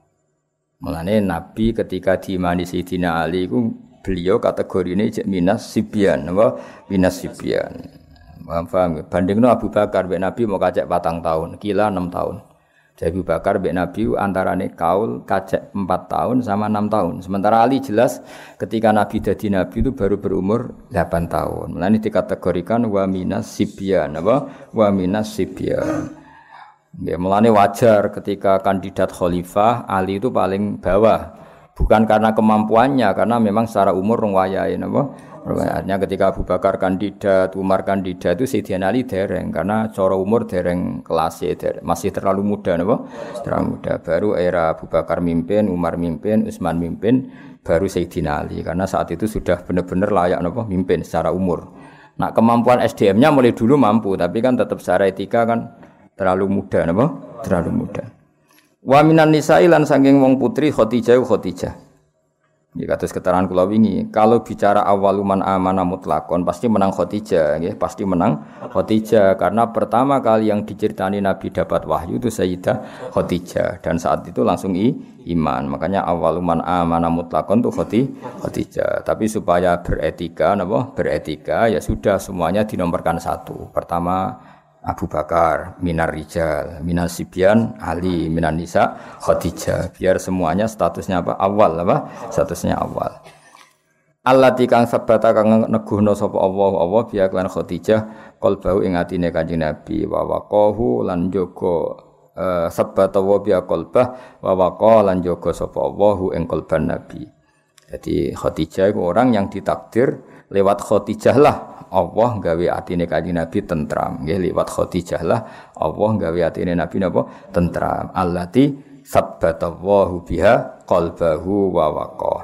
Mulane Nabi ketika diimani Sayyidina Ali iku beliau kategorine jek minas sibyan, apa? Minas sibyan. Paham? Bandingno Abu Bakar mek Nabi mau kacek 4 tahun, kila 6 tahun. Jadi Abu Bakar mek Nabi antarane kaul kacek 4 tahun sama 6 tahun. Sementara Ali jelas ketika Nabi dadi nabi itu baru berumur 8 tahun. Mulane dikategorikan wa minas sibyan, apa? Wa minas sibyan. Ya, mulane wajar ketika kandidat khalifah Ali itu paling bawah. Bukan karena kemampuannya, karena memang secara umur rong wayahe napa? Artinya ketika Abu Bakar kandidat, Umar kandidat itu Sayyidina Ali dereng karena cara umur dereng kelasnya masih terlalu muda napa? Terlalu muda. Baru era Abu Bakar mimpin, Umar mimpin, Utsman mimpin, baru Sayyidina Ali karena saat itu sudah benar-benar layak napa? Mimpin secara umur. Nah, kemampuan SDM-nya mulai dulu mampu, tapi kan tetap secara etika kan terlalu muda napa? Terlalu muda. Wa minan nisa'i lan saking wong putri Khadijah. Nggih kados keterangan kula wingi, kalau bicara awaluman amanah mutlakon pasti menang Khadijah, nggih, pasti menang Khadijah karena pertama kali yang diceritani Nabi dapat wahyu itu Sayyidah Khadijah dan saat itu langsung iman. Makanya awaluman amanah mutlakon itu Khadijah. Tapi supaya beretika napa? Beretika ya sudah semuanya dinomorkan 1. Pertama Abu Bakar, minar rijal, minas sibyan, Ali, minan nisa, Khadijah. Biar semuanya statusnya apa? Awal apa? Statusnya awal. Allati kang sabata kang neguhna sapa Allah biya lan Khadijah qalbahu ing atine Kanjeng Nabi wa waqahu lan jaga sabata wa biya qalbah wa waqa lan jaga sapa Allah ing qalban Nabi. Jadi Khadijah itu orang yang ditakdir lewat Khadijah lah Allah gawe atine Kanjeng Nabi tentram. Nggih liwat Khadijah lah Allah gawe atine Nabi napa? Tentram. Allati sabbatallahu biha qalbahu wa waqa.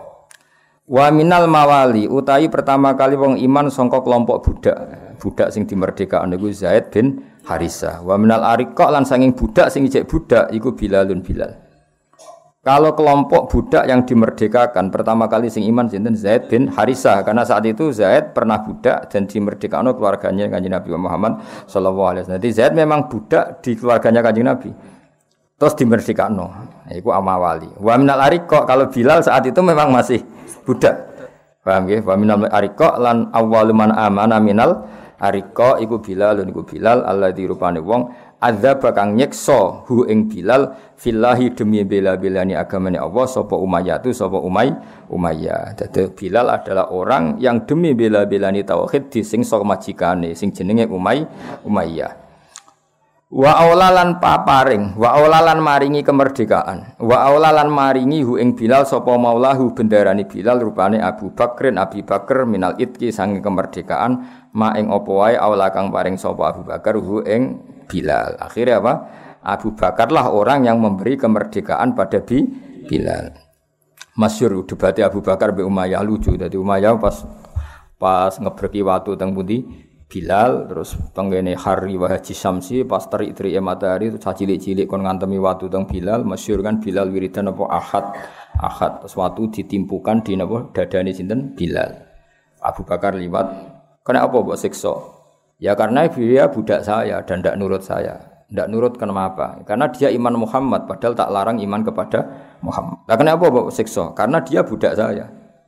Wa minal mawali utawi pertama kali wong iman sangka kelompok budak sing dimerdekakan niku Zaid bin Harisah. Wa minal ariqa lan sanging budak sing ijek budak iku Bilalun Bilal. Kalau kelompok budak yang dimerdekakan pertama kali sing iman sinten Zaid bin Harisah karena saat itu Zaid pernah budak dan dimerdekakan keluarganya Kanjeng Nabi Muhammad sallallahu alaihi wasallam. Jadi Zaid memang budak di keluarganya Kanjeng Nabi. Terus dimerdekakan. Iku amawali. Wa minal ariqa kalau Bilal saat itu memang masih budak. Paham nggih? Wa minal ariqa lan awwalu man amana minal ariqa iku Bilal alladzi rupane wong azab kang nyekso hu ing Bilal fillahi demi bela-belani agamane Allah sapa Umayyah tu sapa Umayyah. Dadi Bilal adalah orang yang demi bela-belani tauhid disingso majikane sing jenenge Umayyah. Wa aulalan paparing wa aulalan maringi kemerdekaan wa aulalan maringi hu ing Bilal sapa maulahu bendarani Bilal rupane Abi Bakar minal itki sange kemerdekaan ma ing apa wae aula kang paring sapa Abu Bakar hu ing Bilal. Akhirnya apa? Abu Bakarlah orang yang memberi kemerdekaan pada Bilal. Masyhur debatnya Abu Bakar be Umayyah lucu. Dadi Umayyah pas ngebreki watu teng pundi Bilal terus penggene hari wa haji samsi pas terik-terik matahari itu cilik-cilik kon ngantemi watu teng Bilal. Masyhur kan Bilal wiridan apa ahad terus watu ditimpukan di napa dadane sinten Bilal. Abu Bakar liwat kena apa mbok siksa Ya karena dia budak saya dan tidak nurut saya. Tidak nurut kenapa? Karena dia iman Muhammad, padahal tak larang iman kepada Muhammad. Nah, kenapa Bapak siksa? Karena dia budak saya.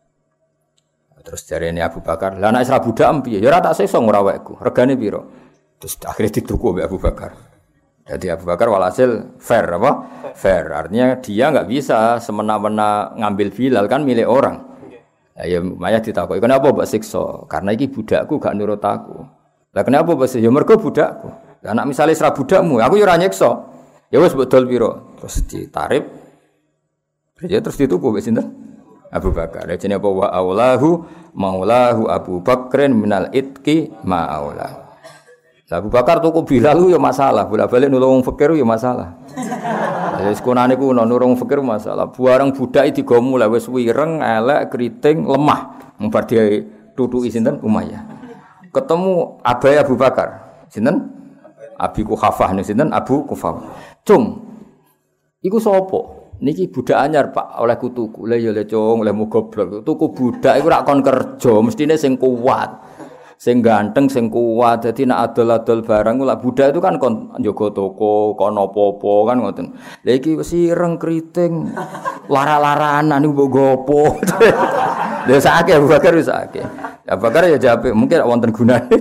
Terus dari ini Abu Bakar, lah nek isra budak piye? Ya ora tak siksa ngurawekku. Regane piro? Terus akhirnya dituku oleh Abu Bakar. Jadi Abu Bakar walhasil fair apa? Fair. Artinya dia enggak bisa semena-mena ngambil Bilal kan milik orang. Ya Maya ditakoki, "Kenapa mbok siksa?" Karena iki budakku gak nurut aku. Lah kenapa mbok siksa? Ya mergo budakku. Lah nek misale isra budakmu, aku ya ora nyiksa. Ya wis mbok dol piro? Terus ditarif. Terus dituku mbek sinten? Abu Bakar. Jadi apa wa aulahu maulahu Abu Bakrin minal itqi ma aulah. Abu Bakar tuku Bilal ya masalah, bolak-balik nulung fakir ya masalah. Wis kunane kuno nulung fakir masalah. Bareng budak digo mulai wis wireng, elek, kriting, lemah. Mbar dia tutuki sinten Umayyah. Ketemu abai Abu Bakar. Sinten? Abi Kuhafah niku sinten Abu Kuhafah. Cung. Iku sapa? Niki budak anyar Pak oleh kutuku. Lah ya le cung, oleh goblok. Tuku budak iku rak kon kerja, mestine sing kuat. Sing ganteng, sing kuat. Dadi nek adol-adol barang ku lak budak itu kan kon njaga toko, kon apa-apa kan ngoten. Lah iki wis ireng kriting. Lara-laranan niku mbok gopo. Lha sakake Abu Bakar wis sakake. Abu Bakar ya jape, mungkin wonten gunane.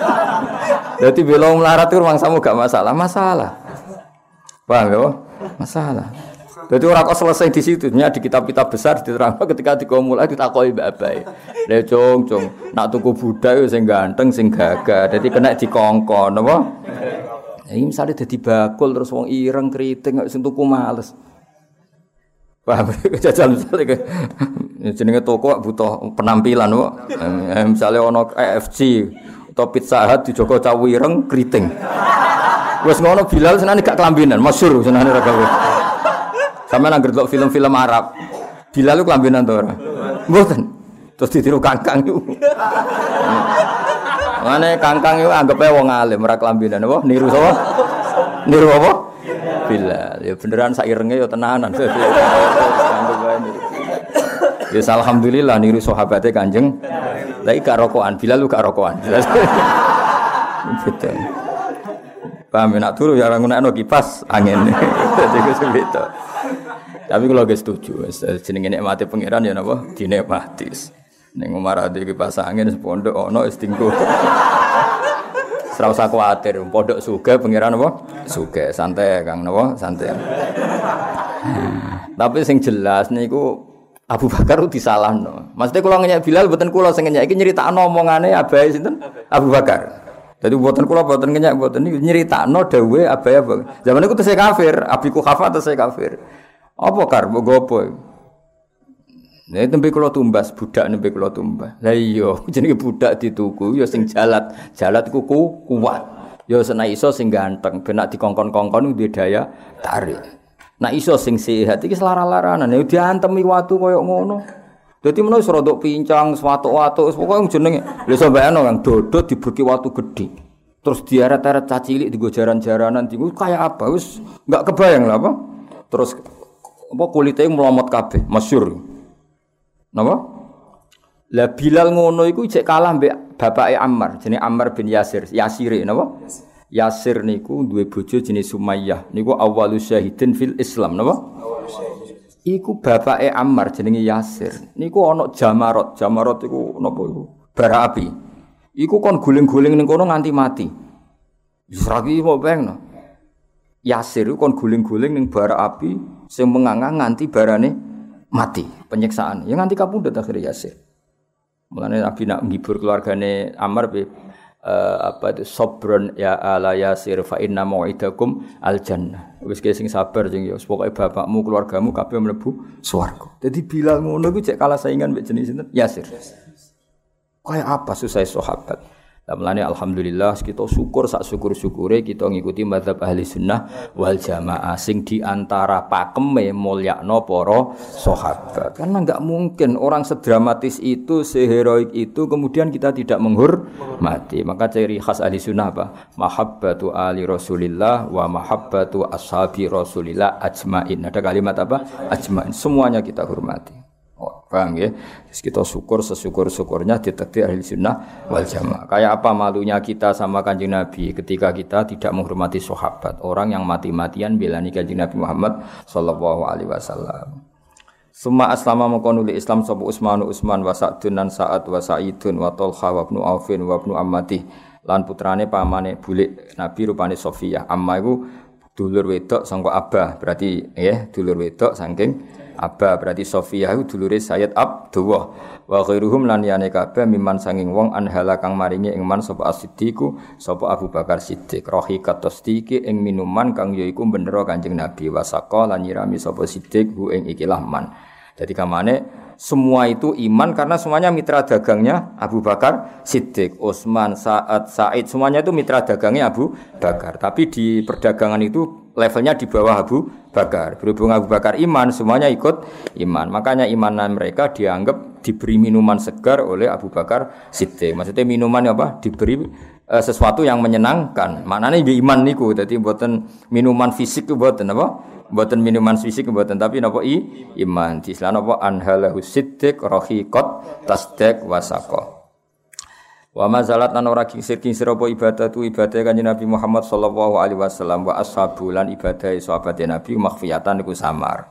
Dadi bela melarat ku mangsamu gak masalah, masalah. Paham ya? Masalah. Jadi orang kok selesai di situ, di kitab-kitab besar diterangkan ketika dikomulai ditakoki mbak abai. Le cung, nak tuku budak yo sing ganteng, sing gagah. Dadi kena dikongkon apa? Ini misalnya dadi bakul terus wong ireng kriting sing tuku males. Paham? Jajal misalnya jenenge toko butuh penampilan kok. Misalnya ono KFC atau Pizza Hut dijogo cah ireng kriting. Wes ngono Bilal senane gak kelambinan, masyhur senane ra gawe. Sampeyan anggere delok film-film Arab. Bilal ku kelambinan to ora? Mboten. Terus ditiru kangkang iku. Mane kangkang iku anggepe wong alim ora kelambinan apa? Niru sapa? Niru apa? Bilal. Ya beneran sak irenge ya tenanan. Ya alhamdulillah niru sahabate Kanjeng. Lah iki gak rokokan, Bilal lu gak rokokan. Betul. Paham nak turu ya ora ngunekno kipas angin. Dadi ku sebito. Tapi kalau gak setuju, jenenge nikmati pangeran ya napa dinikmati. Ning omah ade kipas angin sepondok ono wis tinggo. Ora usah kuwatir, pondok sugih pangeran apa? Sugih, santai Kang napa? Santai. Tapi sing jelas niku Abu Bakar disalahno. Maksudnya kula ngenyek Bilal mboten kula sing ngenyek iki nyeritakno omongane abahe sinten? Abu Bakar. Jadi mboten kula mboten ngenyek mboten niku nyeritakno dawuhe abahe. Zaman iku tesih kafir, Abi Kuhafah tesih kafir. Apa kar mbok gopo? Nek tembe kula tumbas budak nembe kula tumbas. Lah iya, jenenge budak dituku ya sing jalat. Jalat iku kuat. Ya sena iso sing ganteng, ben nek dikongkon-kongkon duwe daya tarik. Nek iso sing sehat iki selara-laranan ya diantemi watu koyo ngono. Dadi menawa wis rodok pincang, watuk-watuk, pokoke jenenge. Lha iso bayangno Kang dodot diburki watu gedhe. Terus diaret-aret cacilik digo jaran-jaranan digo kaya apa? Wis enggak kebayang lah apa. Terus apa kulite melomot kabeh, masyhur. Napa? Lah Bilal ngono iku cek kalah mbek bapake Ammar, jenenge Ammar bin Yasir. Yasire napa? Yasir niku duwe bojo jenenge Sumayyah. Niku awwalus syahidin fil Islam napa? Iku bapake Ammar jenenge Yasir. Niku ana Jamarot. Jamarot iku napa iku? Bara api. Iku kon guling-guling ning kono nganti mati. Wis ra iki mau bayangno. Yasir iku kon guling-guling ning bara api sing mengangang nganti barane mati, penyiksaan. Ya nganti kapundhut akhire Yasir. Mulane Nabi nak ngibur keluargane Ammar apa itu sabron ya ala Yasir fa inna mau'idakum al-jannah. Wis sing sabar sing ya pokoke bapakmu keluargamu kabeh mlebu swarga. Dadi Bilal ngono iku cek kalah saingan mbek jenis sinten? Yasir. Kayak apa susah sahabat. Mulane alhamdulillah kita syukur sak syukur-syukure kita ngikuti mazhab ahli sunnah wal jamaah sing diantara pakeme mulyakno para sahabat. Karena enggak mungkin orang sedramatis itu, seheroik itu kemudian kita tidak menghormati. Maka ciri khas ahli sunnah apa? Mahabbatu ali Rasulillah wa mahabbatu ashabi Rasulillah ajmain. Ada kalimat apa? Ajmain. Semuanya kita hormati. Paham ya? Terus kita syukur sesyukur-syukurnya ditakdir ahli sunnah wal jamaah. Kayak apa malunya kita sama Kanjeng Nabi ketika kita tidak menghormati sahabat, orang yang mati-matian belani Kanjeng Nabi Muhammad sallallahu alaihi wasallam. Summa aslama mengkonuli Islam sapa Utsman wa Sa'dun lan Sa'ad wa Sa'idun wa Talha wa ibnu Aufin wa ibnu Ammati lan putrane pamane bulik Nabi rupane Sofiyah. Amma iku dulur wedok sangka Abah, berarti ya dulur wedok saking Abah, berarti Sofiyah iku dulure Sayyid Abdullah. Wa ghairuhum lan yane kabeh miman sanging wong anhala kang maringi ing man sapa As-Siddiqu sapa Abu Bakar Siddiq rahiqat tasdiqi ing minuman kang yaiku bendera Kanjeng Nabi wasaqa lan nyirami sapa Siddiq hu ing ikilah man. Jadi kamane semua itu iman karena semuanya mitra dagangnya Abu Bakar Siddiq, Utsman, Sa'ad, Sa'id, semuanya itu mitra dagangnya Abu Bakar. Tapi di perdagangan itu levelnya di bawah Abu Bakar. Berhubung Abu Bakar iman, semuanya ikut iman. Makanya imanan mereka dianggap diberi minuman segar oleh Abu Bakar Siddiq. Maksudnya minuman apa? Diberi sesuatu yang menyenangkan. Maknanya di iman niku. Jadi mboten minuman fisik itu mboten apa? Mboten minuman fisik mboten tapi napa iman. Di Islam napa anhalahu siddiq rahiqat tasdiq wasaqa. Wa mazalat lan ora kingsir-kingsir apa ibadatu ibadah Kanjeng Nabi Muhammad sallallahu alaihi wasallam wa ashabu lan ibadah sahabat Nabi makhfiyatan niku samar.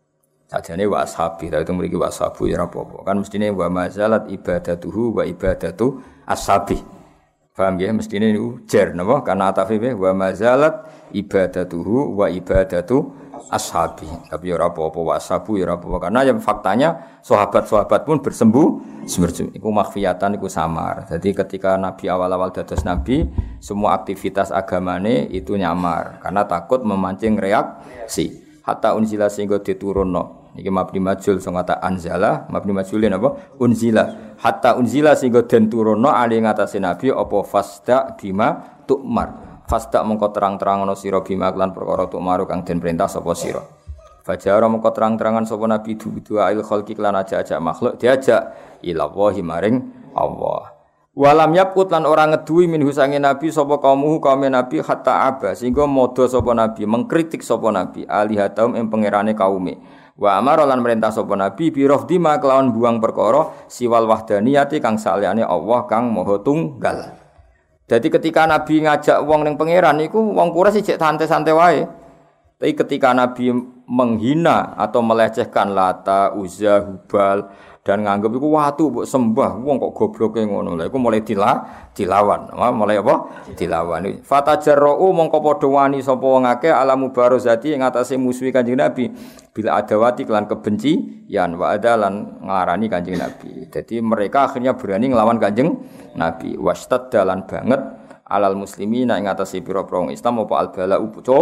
Sajane wa ashabi ta itu mriki wa ashabu ya apa-apa. Kan mestine wa mazalat ibadatuhu wa ibadatu ashabi. Paham ya mestine niku jar napa karena atafe wa mazalat ibadatuhu wa ibadatu ashabi. Tapi ora apa-apa wa ashabu ya ora apa-apa karena yang faktanya sahabat-sahabat pun bersembuh iku makhfiyatan iku samar. Jadi ketika Nabi awal-awal dados Nabi, semua aktivitas agamane itu nyamar karena takut memancing reaksi. Hatta unzila sehingga diturunno. Iki mabni majul sing kata anzala, mabni majulin apa? Unzila. Hatta unzila sehingga den turunno ali ngatasé Nabi apa fasda bima tu'mar. Fasda mengko terang-terangono sira bima lan perkara tu'maru kang den perintah sapa sira. Fajara mengko terang-terangan sapa Nabi dua il khalqi lan ajak-ajak makhluk diajak ila wahi maring Allah. Walam yaput lan ora ngeduwi minhu sange Nabi sapa kaumuhu kaum Nabi hatta aba sehingga modho sapa Nabi mengkritik sapa Nabi alihatum ing pangerane kaume. Wa amara lan merintah sapa Nabi bi rafdima kelawan buang perkara siwal wahdaniyati kang saliyane Allah kang maha tunggal. Jadi ketika Nabi ngajak wong ning pangeran iku wong Quraisy cek santai-santai wae. Tapi ketika Nabi menghina atau melecehkan Lata, Uzza, Hubal dan nganggep iku watu mbok sembah, wong kok gobloke ngono. Lha iku mulai dilawan. Mulai apa? Dilawan. Fatajarra'u mongko padha wani sapa wong akeh alamu barazati ing atase musuhi Kanjeng Nabi. Bila adawati kelan kebencian wa adalan nglarani Kanjeng Nabi. Jadi mereka akhirnya berani nglawan Kanjeng Nabi. Wastaddalan banget alal muslimina ing atase pira-pira wong Islam apa albala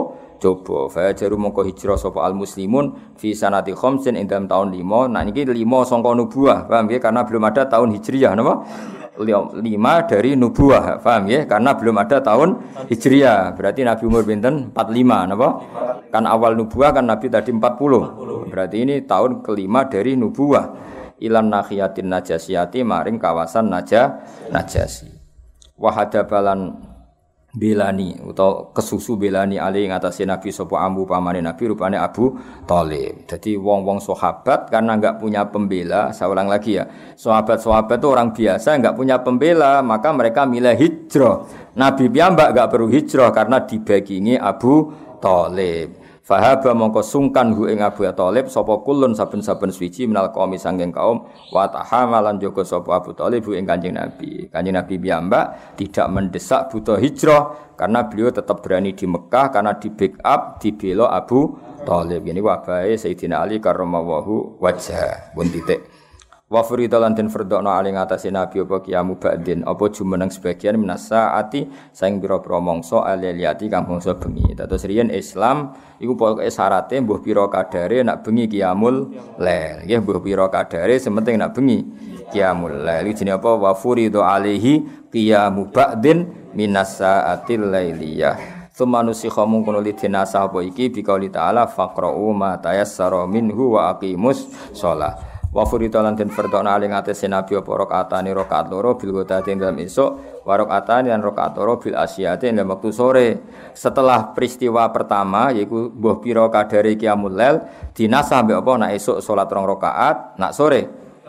coba fajaru mongko hijrah sapa al muslimun fi sanati khamsin ing dalam tahun 5. Nah niki 5 sangka nubuwah, paham nggih? Karena belum ada tahun hijriyah napa? 5 dari nubuwah, paham nggih? Karena belum ada tahun hijriyah. Berarti Nabi umur pinten? 45 napa? Kan awal nubuwah kan Nabi tadi 40. Berarti ini tahun kelima dari nubuwah. Ilan nahiyatin najasiyati maring kawasan najasi. Wahadabalan belani atau kesusu belani ali ing atase Nabi sapa ambu pamane Nabi rupane Abu Thalib. Jadi wong-wong sahabat karena enggak punya pembela, saya ulang lagi ya. Sahabat-sahabat itu orang biasa enggak punya pembela, maka mereka milih hijrah. Nabi piyambak enggak perlu hijrah karena dibagingi Abu Thalib. Fahaba mongko sungkan hu ing Abu Thalib sapa kulun saben-saben suci minal qaumi sanging kaum wa tahamalan jaga sapa Abu Thalib hu ing Kanjeng Nabi. Kanjeng Nabi piyambak tidak mendesak buta hijrah karena beliau tetap berani di Mekah karena di backup dibela Abu Thalib. Ini wabahe Sayyidina Ali karramallahu wajha. Pun titik. Wa furidalan den fardhono ali ngatasi Nabi apa kiamu ba'din apa jumeneng sebagian minasaati saing pira-pira mangsa aliyati kang bangsa bengi. Terus riyen Islam iku pokoke syaraté mbuh pira kadare nak bengi qiyamul lail. Nggih mbuh pira kadare sementing nak bengi qiyamul lail. Jenenge apa? Wa furidu alaihi qiyamu ba'din minasaatil lailiyah. Semanusi khamun kono lidinasa apa iki biqauli ta'ala faqra'u ma tayassara minhu wa aqimus shalah. Wa furitalan den fardhona aling atase Nabi apa rakaatane rakaat loro bil ghadati dalam esuk wa rakaatane lan rakaat loro bil asyiyati dalam waktu sore. Setelah peristiwa pertama yaiku mbuh pira kadare qiyamul lail dinasah mbek apa nak esuk salat 2 rakaat nak sore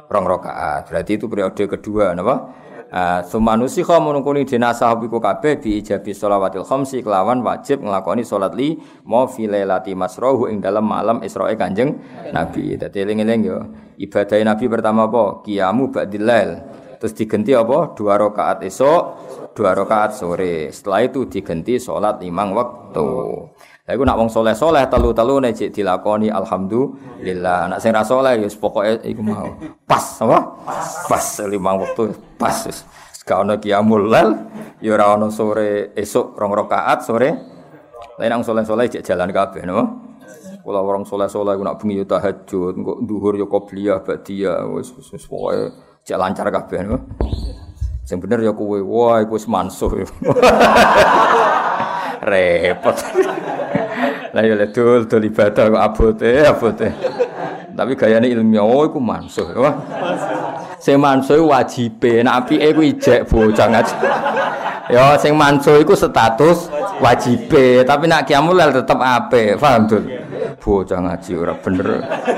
rong rakaat. Berarti itu periode kedua napa? Sumanusi khamungkuni dinasah biku kabeh bi ijabi sholawatil khamsi kelawan wajib nglakoni salat li ma fi lailati masrahu ing dalam malam Israe Kanjeng Nabi. Dadi eling-eling yo ibadah Nabi pertama apa? Qiyamu ba'dil lail. Terus diganti apa? 2 rakaat esuk, 2 rakaat sore. Setelah itu diganti salat 5 waktu. Lah iku nak wong saleh-saleh telu-telu nek cek dilakoni alhamdulillah. Nak sing ra saleh ya pokoke iku mau. Pas apa? Pas 5 waktu pas. Gak ono qiyamul lail, ya ora ono sore esuk 2 rakaat sore. Lah nang saleh-saleh cek jalan kabeh no. Kula wong saleh-saleh iku nak bengi yo tahajud, engko dhuhur yo qobliyah ba'diyah wis pokoke cek lancar kabeh no. Sing bener ya kowe, wah iku wis mansuh. Repot. Lah ya dul ibadah kok abote. Tapi gayane ilmiah iku mansuh. Wah. Sing mansuh wajibe, nek apike iku ijek bocah ngaji. Ya sing mansuh iku status wajibe, tapi nek qiyamul lail tetep apik. Paham, Dul? Bocah ngaji ora bener.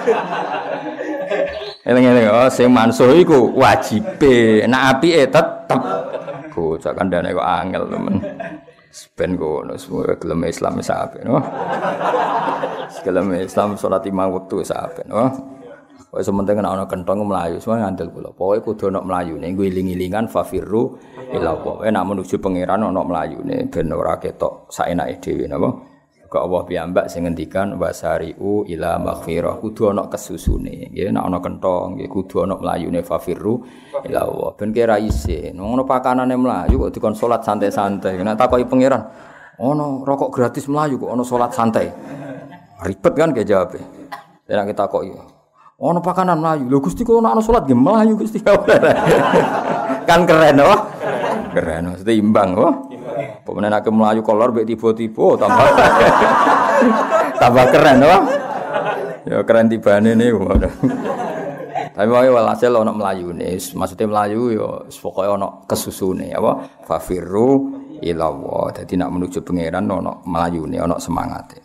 Eling-eling sing mansuh iku wajibe, nek apike tetep. Bocah kandhane kok angel temen. Ben ngono semua gelem Islam wis apik no. Gelem Islam salat 5 wektu wis apik no. Wis sementing ana kenthong mlayu semua ngandel kula. Pokoke kudu ana mlayune nggo iling-ilingan fafirru ila Allah. Nek menuju pangeran ana mlayune ben ora ketok saenake dhewe napa. Kok Allah piyambak sing ngendikan wasari'u ila maghfirah kudu ana kesusune nggih nek ana kenthong nggih kudu ana mlayune fafirru ila Allah ben kira isin ngono pakanane mlayu kok dikon salat santai-santai nek takoki pangeran ana rokok gratis mlayu kok ana salat santai ribet kan ge jawabe nek kita takoki ana pakanan mlayu lho Gusti kok ana salat nggih mlayu Gusti kan keren oh keren mesti imbang oh pemene nek mlayu kolor mek tiba-tiba tambah keren oh. Ya keren tibane niku. Tapi wae walhasil ana mlayune. Maksude mlayu ya pokoke ana kesusune apa fafirru ila Allah. Dadi nek menuju pangeran ana mlayune, ana semangate.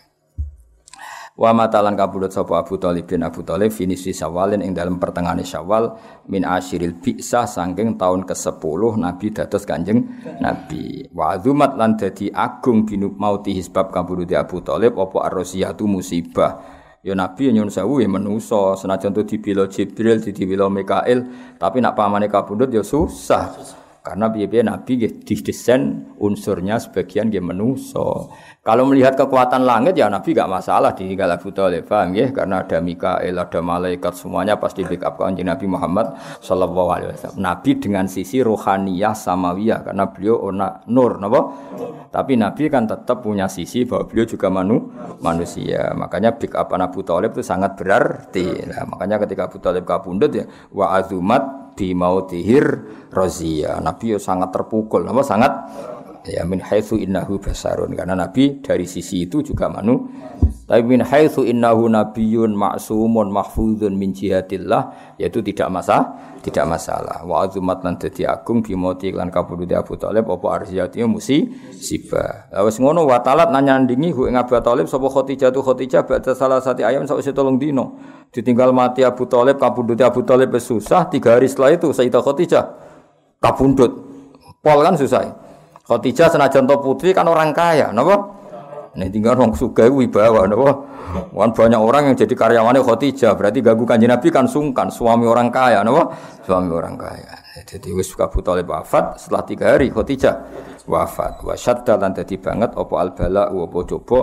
Wa matalan kabudut sapa Abu Thalib bin Abu Thalib finisi Syawalin ing dalam pertengahan Syawal min asyiril bi'sah saking tahun ke-10 Nabi dados Kanjeng Nabi. Wa azumat lan dadi agung binub mauti sebab kabudut Abu Thalib apa ar-rasiyatu musibah. Ya Nabi nyuwun sewu ya manusa senajan to dibela Jibril dibela Mikail tapi nak pamane kabudut ya susah. Karena piye-piye Nabi nggih didesain unsurnya sebagian nggih manusa. Kalau melihat kekuatan langit ya Nabi enggak masalah ditinggal Abu Thalib, paham nggih? Karena ada Mikail, ada malaikat semuanya pasti backup Kanjeng Nabi Muhammad sallallahu alaihi wasallam. Nabi dengan sisi rohaniyah samawiyah karena beliau ana nur napa? Tapi Nabi kan tetap punya sisi bahwa beliau juga manusia. Makanya backup Abu Thalib itu sangat berarti. Nah, makanya ketika Abu Thalib kabundut ya wa azumat bi mautihir razia. Nabi ya sangat terpukul, apa sangat ya min haitsu innahu basarun karena Nabi dari sisi itu juga tapi min haitsu innahu nabiyyun ma'sumun mahfuzun min jihatillah yaitu tidak masalah wa azumat lan dadi agung bimoti lan kabudute Abu Thalib apa arziyati musibah wis ngono wa talat nanyandingi hu ing Abu Thalib sapa Khadijah ba'da salasati ayam sawise 3 dina ditinggal mati Abu Thalib kabudute Abu Thalib susah 3 hari setelah itu Sayyidah Khadijah kabundut pol kan susah Khadijah senajan to putri kan orang kaya, napa? Nek tinggal wong sugih wibawa, napa? Wan banyak orang yang jadi karyawannya Khadijah, berarti ganggu Kanjeng Nabi kan sungkan, suami orang kaya, napa? Suami orang kaya. Jadi wis Abu Thalib wafat setelah 3 hari Khadijah wafat. Wa syadda lan dadi banget apa albala apa coba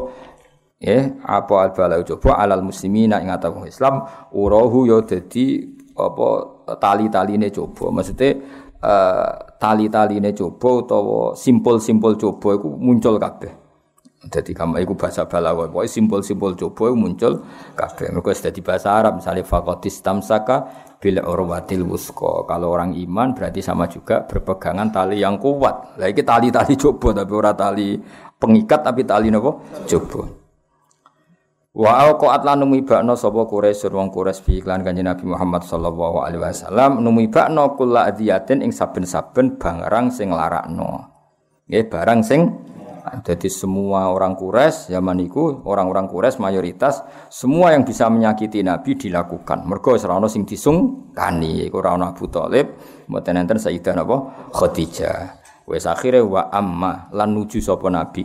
apa albala coba alal muslimina ing atau Islam urahu ya dadi apa tali-taline coba. Maksudnya tali-taline coba utawa simpul-simpul coba iku muncul kabeh. Dadi kamane iku bahasa balaghah. Pokoke simpul-simpul coba iku muncul kabeh. Mergo wis dadi bahasa Arab misale faqatis tamsaka bil urwatil wusqa. Kalau orang iman berarti sama juga berpegangan tali yang kuat. Lah iki tali-tali coba tapi ora tali pengikat tapi tali napa? Coba. Wa alqaat lan numibakna sapa Quraisy wong Quraisy bi iklan Kanjeng Nabi Muhammad sallallahu alaihi wasallam numibakna kula adiyatin ing saben-saben barang sing larakno. Nggih barang sing Jadi semua orang Quraisy zaman itu, orang-orang Quraisy mayoritas semua yang bisa menyakiti Nabi dilakukan. Mergo ora ono sing disungkani, iku ora ono Abu Thalib, mboten enten Sayyidah napa Khadijah. Wis akhire wa amma lan nuju sapa Nabi.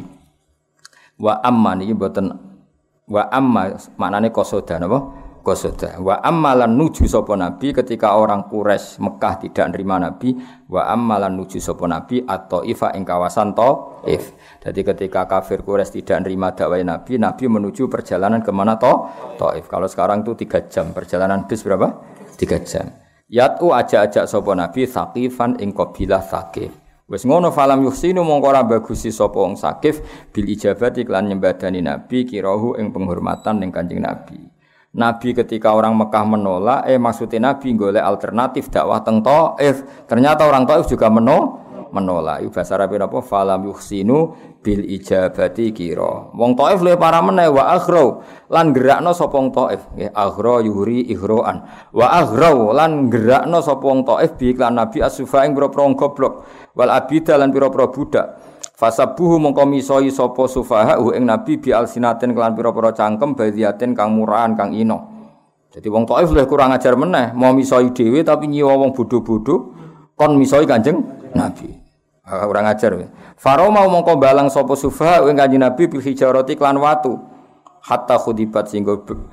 Wa amma niki mboten wa amma maknane qasada napa? Qasada. Wa amma lan nuju sapa Nabi ketika orang Quraisy Mekah tidak nerima Nabi, wa amma lan nuju sapa Nabi at-Thaifah ing kawasan Thaif. Jadi ketika kafir Quraisy tidak nerima dakwah Nabi, Nabi menuju perjalanan ke mana Thaif. Kalau sekarang itu 3 jam, perjalanan bis berapa? 3 jam. Yatu ajak-ajak sapa Nabi Tsaqifan ing kabilah Tsaqif. Wis ngono falam yuhsinu mongko ora bagusi sapa wong Tsaqif bil ijabati lan nyembadani Nabi kirahu ing penghormatan ning Kanjeng Nabi. Nabi ketika orang Mekah menolak, maksudnya Nabi golek alternatif dakwah teng Thaif. Ternyata orang Thaif juga menolak. Iku bahasa Arab apa? Falam yuhsinu bil ijabati kira. Wong Thaif luwih parah meneh wa aghrau lan gerakno sapa wong Thaif. Nggih, aghra yuri ighroan. Wa aghrau lan gerakno sapa wong Thaif bi iklan Nabi as-sufa ing pira-pira goblok. Wal abida lan pira-pira budak. Fasabuhu mongko misoi sapa sufaha ing Nabi bi alsinatin kelan pira-pira cangkem badiatin kang murahan kang ino. Jadi wong Thaif luwih kurang ajar meneh, mau misoi dhewe tapi nyiwa wong bodho-bodho kon misoi Kanjeng Nabi. Kurang ajar. Faroma mongko balang sapa sufaha ing Kanjeng Nabi bil hijarati kelan watu. Hatta khudibat singgo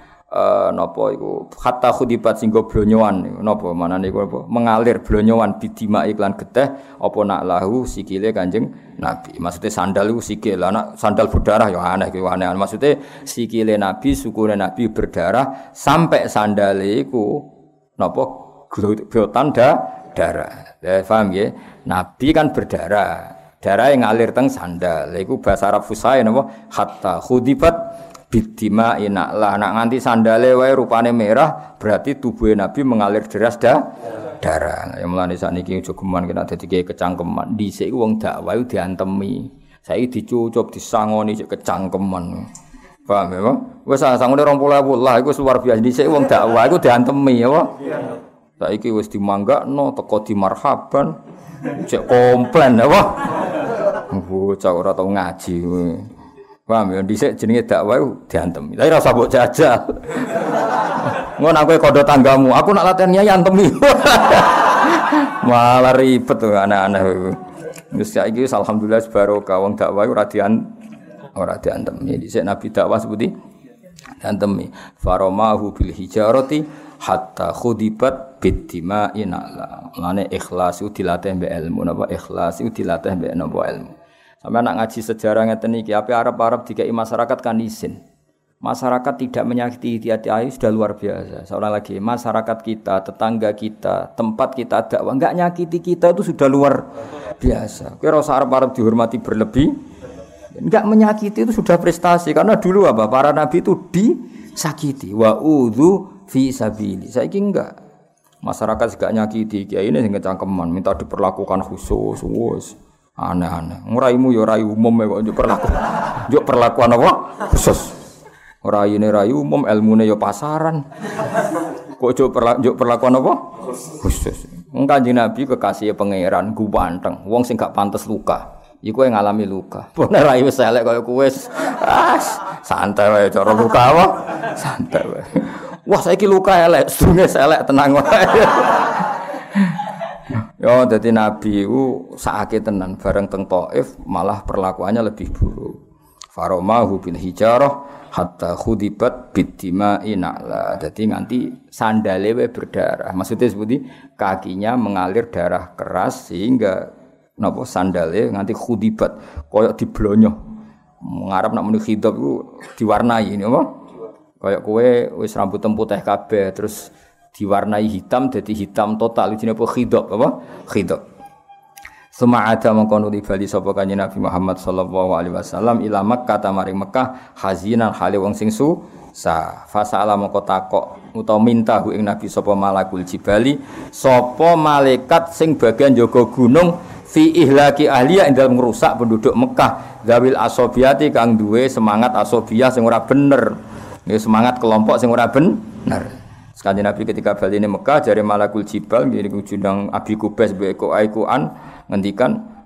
napa iku hatta khudibat singgo blonyoan napa manane iku apa mengalir blonyoan bidima iklan geteh apa nak lahu sikile Kanjeng Nabi. Maksudnya sandal iku sikil, anak sandal berdarah ya aneh iki aneh. Maksudnya sikile Nabi, sukune Nabi berdarah sampai sandale iku napa glotan darah. Paham ya? Nabi kan berdarah. Darah yang ngalir teng sandal. Iku bahasa Arab fusai napa hatta khudibat bidima inaklah nak nganti sandale wae rupane merah berarti tubuh Nabi mengalir deras darah. Yang mulane sakniki aja geman kena dadi kecangkeman. Dhisik wong dakwah diantemi. Saiki dicucup disangoni sik kecangkeman. Paham ya? Wis sangone 20.000 lah iku luar biasa. Dhisik wong dakwah iku diantemi ya. Saiki wis dimanggakno teko di marhaban. Cek komplain apa? Bocah ora tau ngaji. Paham ya, dhisik jenenge dakwah diantem. Tapi ora usah mbok jajal. Ngono aku kondo tanggamu, aku nak latihan nyai antemi. Malah ribet tuh anak-anak iku. Wis saiki alhamdulillah barokah wong dakwah ora diantemi. Dhisik Nabi dakwah seputi diantemi. Faromahu bil hijarati hatta khudibat bidima inala. Mane ikhlas itu dilatih mbek ilmu napa ikhlas itu dilatih mbek napa ilmu. Sampai nak ngaji sejarah ngeten iki, ape Arab dikai masyarakat kan izin. Masyarakat tidak menyakiti hati ayu sudah luar biasa. Seorang lagi masyarakat kita, tetangga kita, tempat kita dakwah enggak nyakiti kita itu sudah luar biasa. Kira Arab dihormati berlebih, enggak menyakiti itu sudah prestasi karena dulu apa? Para nabi itu disakiti. Wa udzu fi sabili. Saiki enggak. Masyarakat enggak nyakiti kiai ini sing kecangkeman, minta diperlakukan khusus, wis. Aneh-aneh. Ngraimu ya rai umum kok njuk perlakuan apa? Khusus. Raine rai umum, ilmune ya pasaran. Kok njuk perlakuan apa? Khusus. Kanjeng Nabi kekasih pangeran guwanteng, wong sing gak pantes luka. Iku yang ngalami luka. Bener rai wis elek kaya kowe wis. Santai wae cara luka apa? Santai wae. Wah saiki luka elek, sedune elek tenang wae. Yo dadi nabi ku sakake tenan bareng teng Thaif malah perlakuannya lebih buruk. Faromahu bil hijarah hatta khudibat biddima'i na'la. Dadi nganti sandale wae berdarah. Maksudnya seperti kakinya mengalir darah keras sehingga napa sandale nganti khudibat koyo diblonyo. Ngarep nak muni khidab iku diwarnai napa? Kayak kowe wis rambut putih kabeh terus diwarnai hitam jadi hitam total jenenge apa khidab apa khidab. Suma'ada mangkono di bali sapa kanjeng Nabi Muhammad sallallahu alaihi wasallam ila Makkah tamari Mekah hazinan hale wong sing susah. Fasala mangko takok utawa minta hu ing Nabi sapa malakul jibali sapa malaikat sing bagian jaga gunung fi ihlaki ahliya ing dalem ngrusak penduduk Mekah zawil asobiyati kang duwe semangat asobiyah sing ora bener. Nggih semangat kelompok sing ora bener. Sekali Nabi ketika bali ini Mekah jare malakul jibal ngene ku jundang Abi Kubais mbek Aiku an ngendikan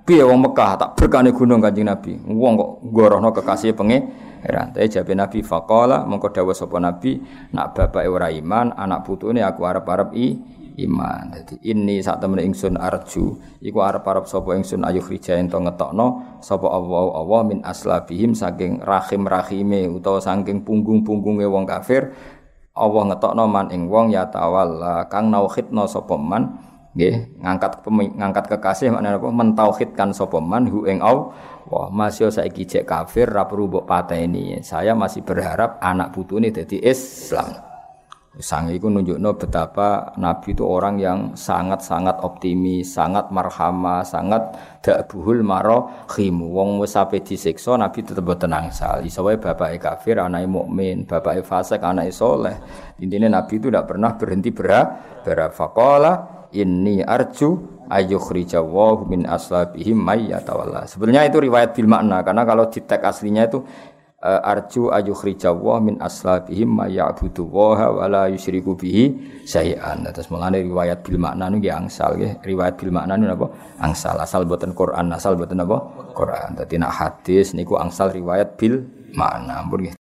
piye wong Mekah tak berkane gunung Kanjeng Nabi. Wong kok ngorohno kekasih pangeran. Tapi jabe Nabi faqala mengko dawuh sapa Nabi, nak bapake ora iman, anak putune aku arep-arep iman. Dadi inni sak temene ingsun arju, iku arep-arep sapa ingsun ayu rija ento ngetokno sapa Allah min aslabihim saking rahim-rahime utawa saking punggung-punggunge wong kafir. Allah ngetokno man ing wong ya tawalla kang nauhidna sapa man nggih ngangkat kekasih maknane apa mentauhidkan sapa man hu ing Allah. Wah, masih saiki cek kafir ra perlu mbok pateni. Saya masih berharap anak putune dadi Islam. Sang iku nunjukno betapa Nabi itu orang yang sangat-sangat optimis, sangat marhamah, sangat dakbuhul marahim. Wong wis ape disiksa Nabi tetep boten angsal. Iso wae bapake kafir, anake mukmin, bapake fasik, anake saleh. Intinya Nabi itu tidak pernah berhenti berharap. Faqala inni arju ayyukhrijallahu min aslabihim may yatawalla. Sebenarnya itu riwayat bil makna karena kalau di teks aslinya itu arju ayyukhrijallahu min aslabihim may ya'budu wa la yusyriku bihi syai'an. Terus mulane riwayat bil makna niku angsal nggih. Riwayat bil makna niku napa? Angsal asal boten Quran, asal boten apa? Quran. Dadi nek hadis niku angsal riwayat bil makna. Ampun nggih.